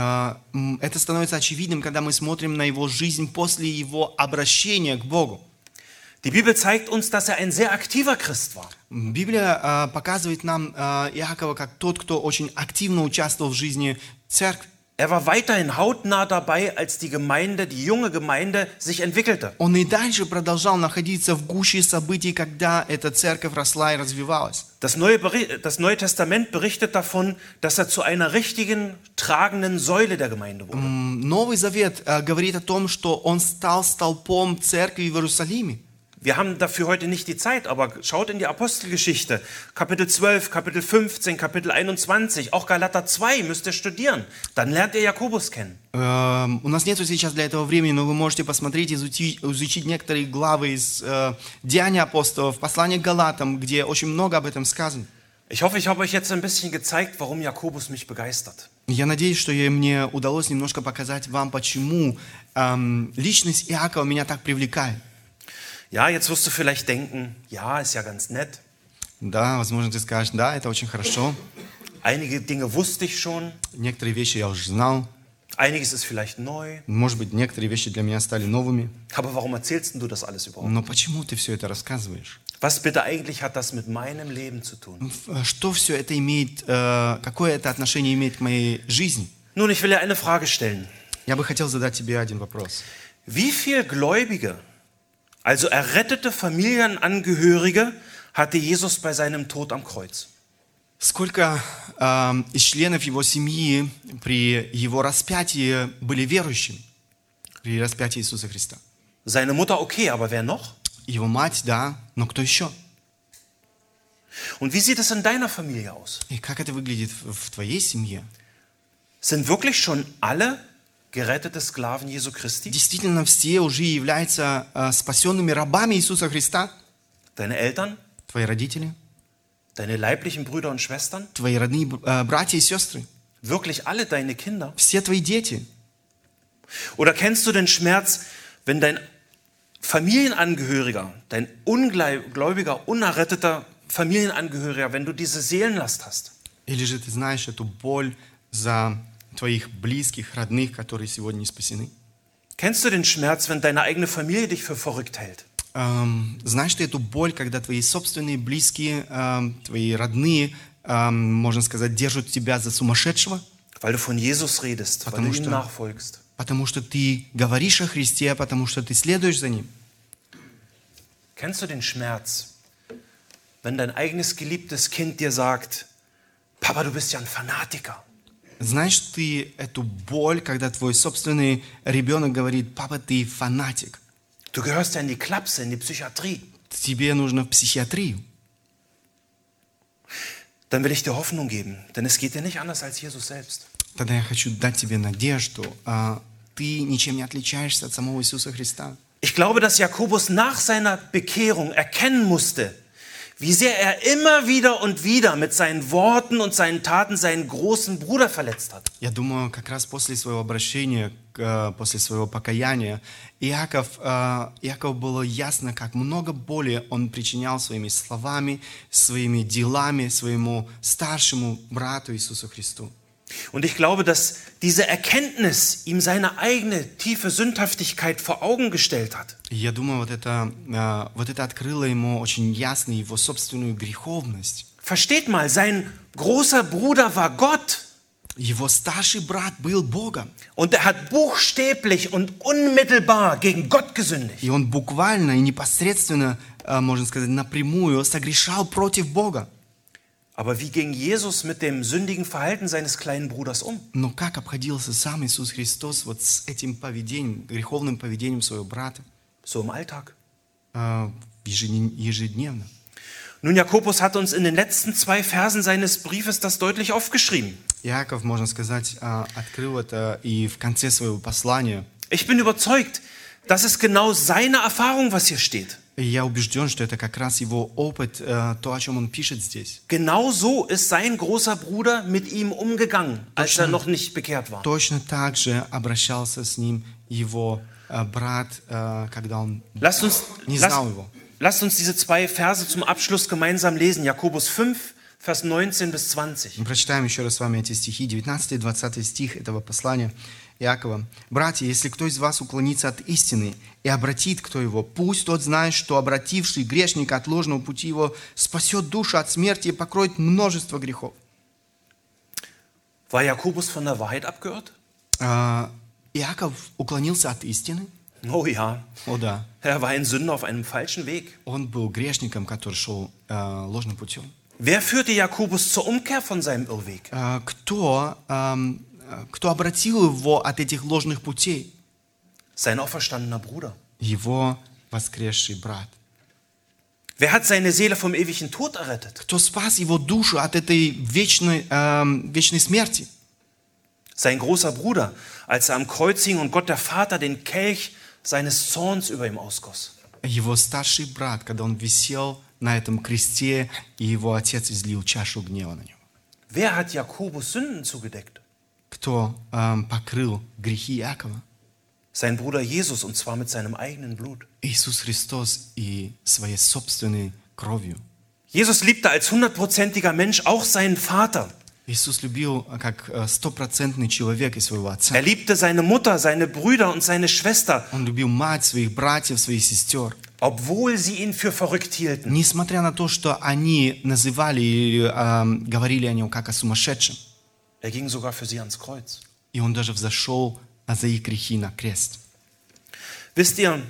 Это становится очевидным, когда мы смотрим на его жизнь после его обращения к Богу. Die Bibel zeigt uns, dass er ein sehr aktiver Christ war. Библия показывает нам Иакова как тот, кто очень активно участвовал в жизни церкви. Er war weiterhin hautnah dabei, als die junge Gemeinde sich entwickelte. Он и дальше продолжал находиться в гуще событий, когда эта церковь росла и развивалась. Das Neue Testament berichtet davon, dass er zu einer richtigen, tragenden Säule der Gemeinde wurde. Новый Завет говорит о том, что он стал столпом церкви в Иерусалиме. Wir haben dafür heute nicht die Zeit, aber schaut in die Apostelgeschichte. Kapitel 12, Kapitel 15, Kapitel 21, auch Galater 2 müsst ihr studieren. Dann lernt ihr Jakobus kennen. У нас нет сейчас для этого времени, но вы можете посмотреть, изучить некоторые главы из Деяний апостолов, послания к Галатам, где очень много об этом сказано. Ich hoffe, ich habe euch jetzt ein bisschen gezeigt, warum Jakobus mich begeistert. Я надеюсь, что мне удалось немножко показать вам, почему личность Иакова меня так привлекает. Ja, jetzt wirst du vielleicht denken, ja, ist ja ganz nett. Да, возможно, ты скажешь, да, это очень хорошо. Einige Dinge wusste ich schon. Некоторые вещи я уже знал. Einiges ist vielleicht neu. Может быть, некоторые вещи для меня стали новыми. Aber warum erzählst denn du das alles überhaupt? Но почему ты все это рассказываешь? Was bitte eigentlich hat das mit meinem Leben zu tun? Что все это имеет, какое это отношение имеет к моей жизни? Nun, ich will dir eine Frage stellen. Я бы хотел задать тебе один вопрос. Wie viele Gläubige, also errettete Familienangehörige, hatte Jesus bei seinem Tod am Kreuz? Сколько из членов его семьи при его распятии были верующими? При распятии Иисуса Христа. Seine Mutter, okay, aber wer noch? Его мать, да, но кто еще? Und wie sieht es in deiner Familie aus? И как это выглядит в твоей семье? Sind wirklich schon alle gerettete Sklaven Jesu Christi? Действительно, все уже являются спасенными рабами Иисуса Христа? Deine Eltern? Твои родители? Deine leiblichen Brüder und Schwestern? Твои родные братья и сестры? Wirklich alle deine Kinder? Все твои дети? Oder kennst du den Schmerz, wenn dein Familienangehöriger, dein ungläubiger, unerretteter Familienangehöriger, wenn du diese Seelenlast hast? Или же ты знаешь эту боль за твоих близких, родных, которые сегодня не спасены? Kennst du den Schmerz, wenn deine eigene Familie dich für verrückt hält? Знаешь ты эту боль, когда твои собственные близкие, твои родные, можно сказать, держат тебя за сумасшедшего? Weil du von Jesus redest, weil du ihm nachfolgst. Потому что ты говоришь о Христе, потому что ты следуешь за Ним. Kennst du den Schmerz, wenn dein eigenes geliebtes Kind dir sagt, Papa, du bist ja ein Fanatiker? Знаешь ты эту боль, когда твой собственный ребенок говорит: папа, ты фанатик. Du gehörst ja in die Klapse, in die Psychiatrie. Тебе нужно в психиатрию. Dann will ich dir Hoffnung geben, denn es geht dir nicht anders als Jesus selbst. Тогда я хочу дать тебе надежду. Ты ничем не отличаешься от самого Иисуса Христа. Ich glaube, dass Jakobus nach seiner Bekehrung erkennen musste, wie sehr er immer wieder mit seinen Worten und seinen Taten seinen großen Bruder verletzt hat. Я думаю, как раз после своего обращения, после своего покаяния, Иакову было ясно, как много боли он причинял своими словами, своими делами своему старшему брату Иисусу Христу. Und ich glaube, dass diese Erkenntnis ihm seine eigene tiefe Sündhaftigkeit vor Augen gestellt hat. Я думаю, вот это открыло ему очень ясно его собственную греховность. Versteht mal, sein großer Bruder war Gott. Его старший брат был Богом. Und er hat buchstäblich und unmittelbar gegen Gott gesündigt. И он буквально и непосредственно, можно сказать, напрямую согрешал против Бога. Aber wie ging Jesus mit dem sündigen Verhalten seines kleinen Bruders um? Но как обходился сам Иисус Христос вот с этим поведением, греховным поведением своего брата? So im Alltag. Ежедневно. Nun, Jakobus hat uns in den letzten 2 Versen seines Briefes das deutlich aufgeschrieben. Иаков, можно сказать, открыл это и в конце своего послания. Ich bin überzeugt, das ist genau seine Erfahrung, was hier steht. И я убежден, что это как раз его опыт, то, о чем он пишет здесь. Genau so ist sein großer Bruder mit ihm umgegangen, als er noch nicht bekehrt war. Точно так же обращался с ним его брат, когда он не знал его. Lasst uns diese 2 Verse zum Abschluss gemeinsam lesen. Jakobus 5, Vers 19 bis 20. Мы прочитаем еще раз с вами эти стихи, 19 и 20 стих этого послания Иакова. «Братья, если кто из вас уклонится от истины и обратит кто его, пусть тот знает, что обративший грешника от ложного пути его спасет душу от смерти и покроет множество грехов». War Jakobus von der Wahrheit abgehört? Иаков уклонился от истины? Oh ja. О да. Er war ein Sünder auf einem falschen Weg. Он был грешником, который шел ложным путем. Wer führte Jakobus zur Umkehr von seinem Irrweg? Кто обратил его от этих ложных путей? Sein auferstandener Bruder. Его воскресший брат. Wer hat seine Seele vom ewigen Tod errettet? Кто спас его душу от этой вечной смерти? Sein großer Bruder, als er am Kreuz hing und Gott der Vater den Kelch seines Zorns über ihm ausgoss. Его старший брат, когда он висел на этом кресте, и его отец излил чашу гнева на него. Wer hat Jakobus Sünden zugedeckt? Кто покрыл грехи Иакова? Sein Bruder Jesus, und zwar mit seinem eigenen Blut. Иисус Христос и своей собственной кровью. Jesus liebte als 100%iger Mensch auch seinen Vater. Иисус любил как стопроцентный человек и своего отца. Er liebte seine Mutter, seine Brüder und seine Schwester, Он любил мать, своих братьев, своих сестер. obwohl sie ihn für verrückt hielten. Несмотря на то, что они называли или говорили о нем как о сумасшедшем. Er ging sogar für sie ans Kreuz. И он даже взошел за их грехи на крест. Wisst ihr,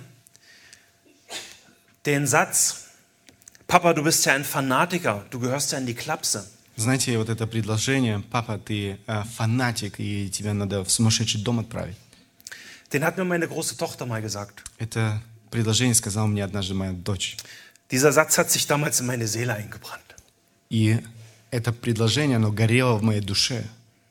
den Satz, Papa, du bist ja ein Fanatiker, du gehörst ja in die Klapse. Знаете, вот это предложение: папа, ты фанатик, и тебя надо в сумасшедший дом отправить. Den hat mir meine große Tochter mal gesagt. Это предложение сказала мне однажды моя дочь. Dieser Satz hat sich damals in meine Seele eingebrannt. И это предложение, оно горело в моей душе.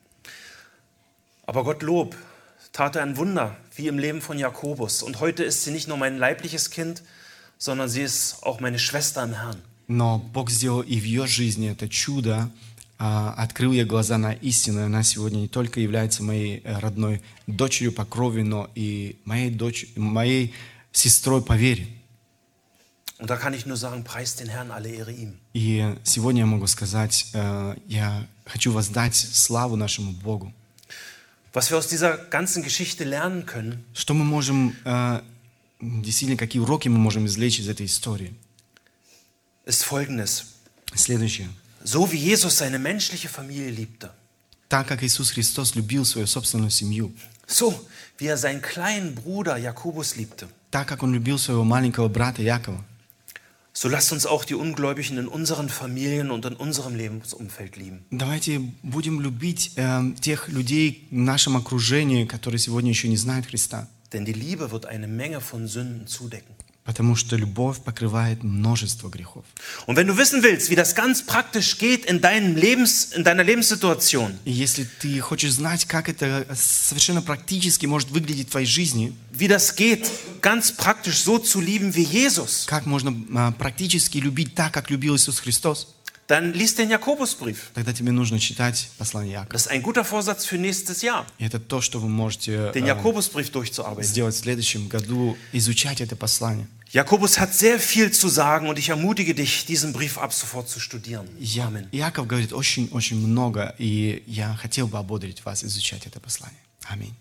Aber Gottlob tat er ein Wunder, wie im Leben von Jakobus. Und heute ist sie nicht nur mein leibliches Kind, sondern sie ist auch meine Schwester im Herrn. Но Бог сделал и в ее жизни это чудо, открыл ей глаза на истину. Она сегодня не только является моей родной дочерью по крови, но и моей сестрой по вере. Und da kann ich nur sagen, preist den Herrn, alle Ehre ihm. И сегодня я могу сказать, я хочу воздать славу нашему Богу. Was wir aus dieser ganzen Geschichte lernen können, Что мы можем, действительно, какие уроки мы можем извлечь из этой истории? ist Folgendes. Следующее. So wie Jesus seine menschliche Familie liebte, Так как Иисус Христос любил свою собственную семью, so wie er seinen kleinen Bruder Jakobus liebte, так как Он любил своего маленького брата Якова, so lasst uns auch die Ungläubigen in unseren Familien und in unserem Lebensumfeld lieben. давайте будем любить тех людей в нашем окружении, которые сегодня еще не знают Христа. Denn die Liebe wird eine Menge von Sünden zudecken. Потому что любовь покрывает множество грехов. Und wenn du wissen willst, wie das ganz praktisch geht in deiner Lebenssituation, И если ты хочешь знать, как это совершенно практически может выглядеть в твоей жизни, wie das geht, ganz praktisch so zu lieben wie Jesus, как можно практически любить так, как любил Иисус Христос, dann lies den Jakobusbrief. тогда тебе нужно читать послание Якова. Das ist ein guter Vorsatz für nächstes Jahr, И это то, что вы можете den Jakobusbrief durchzuarbeiten. сделать в следующем году, изучать это послание. Jakobus hat sehr viel zu sagen und ich ermutige dich, diesen Brief ab sofort zu studieren. Amen. Яков говорит очень-очень много, и я хотел бы ободрить вас изучать это послание. Аминь.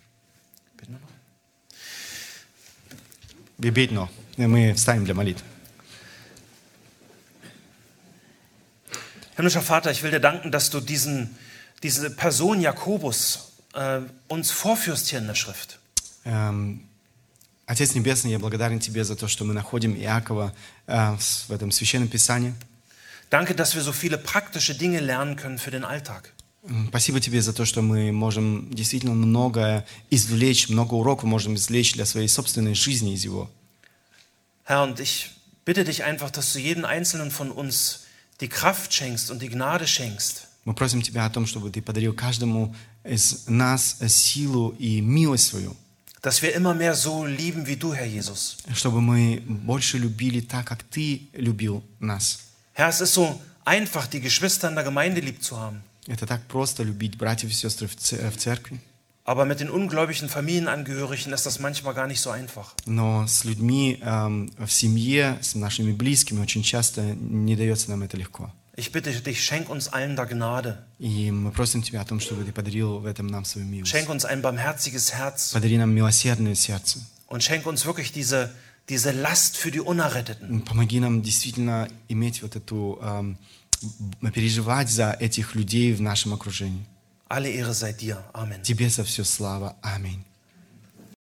Wir beten noch. Мы встанем для молитвы. Himmlischer Vater, ich will dir danken, dass du diese Person Jakobus uns vorführst hier in der Schrift. Отец Небесный, я благодарен Тебе за то, что мы находим Иакова в этом Священном Писании. Danke, dass wir so viele praktische Dinge lernen können für den Alltag. Спасибо Тебе за то, что мы можем действительно много извлечь, много уроков можем извлечь для своей собственной жизни из его. Herr, und ich bitte dich einfach, dass du jedem Einzelnen von uns die Kraft schenkst und die Gnade schenkst. Мы просим Тебя о том, чтобы Ты подарил каждому из нас силу и милость свою. Dass wir immer mehr so lieben wie du, Herr Jesus. Чтобы мы больше любили так, как Ты любил нас. Herr, es ist so einfach, die Geschwister in der Gemeinde lieb zu haben. Это так просто любить братьев и сестры в церкви. Aber mit den ungläubigen Familienangehörigen ist das manchmal gar nicht so einfach. Но с людьми в семье, с нашими близкими очень часто не дается нам это легко. Ich bitte dich, schenk uns allen da Gnade. И мы просим Тебя о том, чтобы Ты подарил в этом нам свою милость. Schenk uns ein barmherziges Herz. Подари нам милосердное сердце. Und schenk uns wirklich diese Last für die Unerretteten. Помоги нам действительно иметь вот эту, переживать за этих людей в нашем окружении. Alle Ehre sei dir. Amen. Тебе за все слава. Аминь.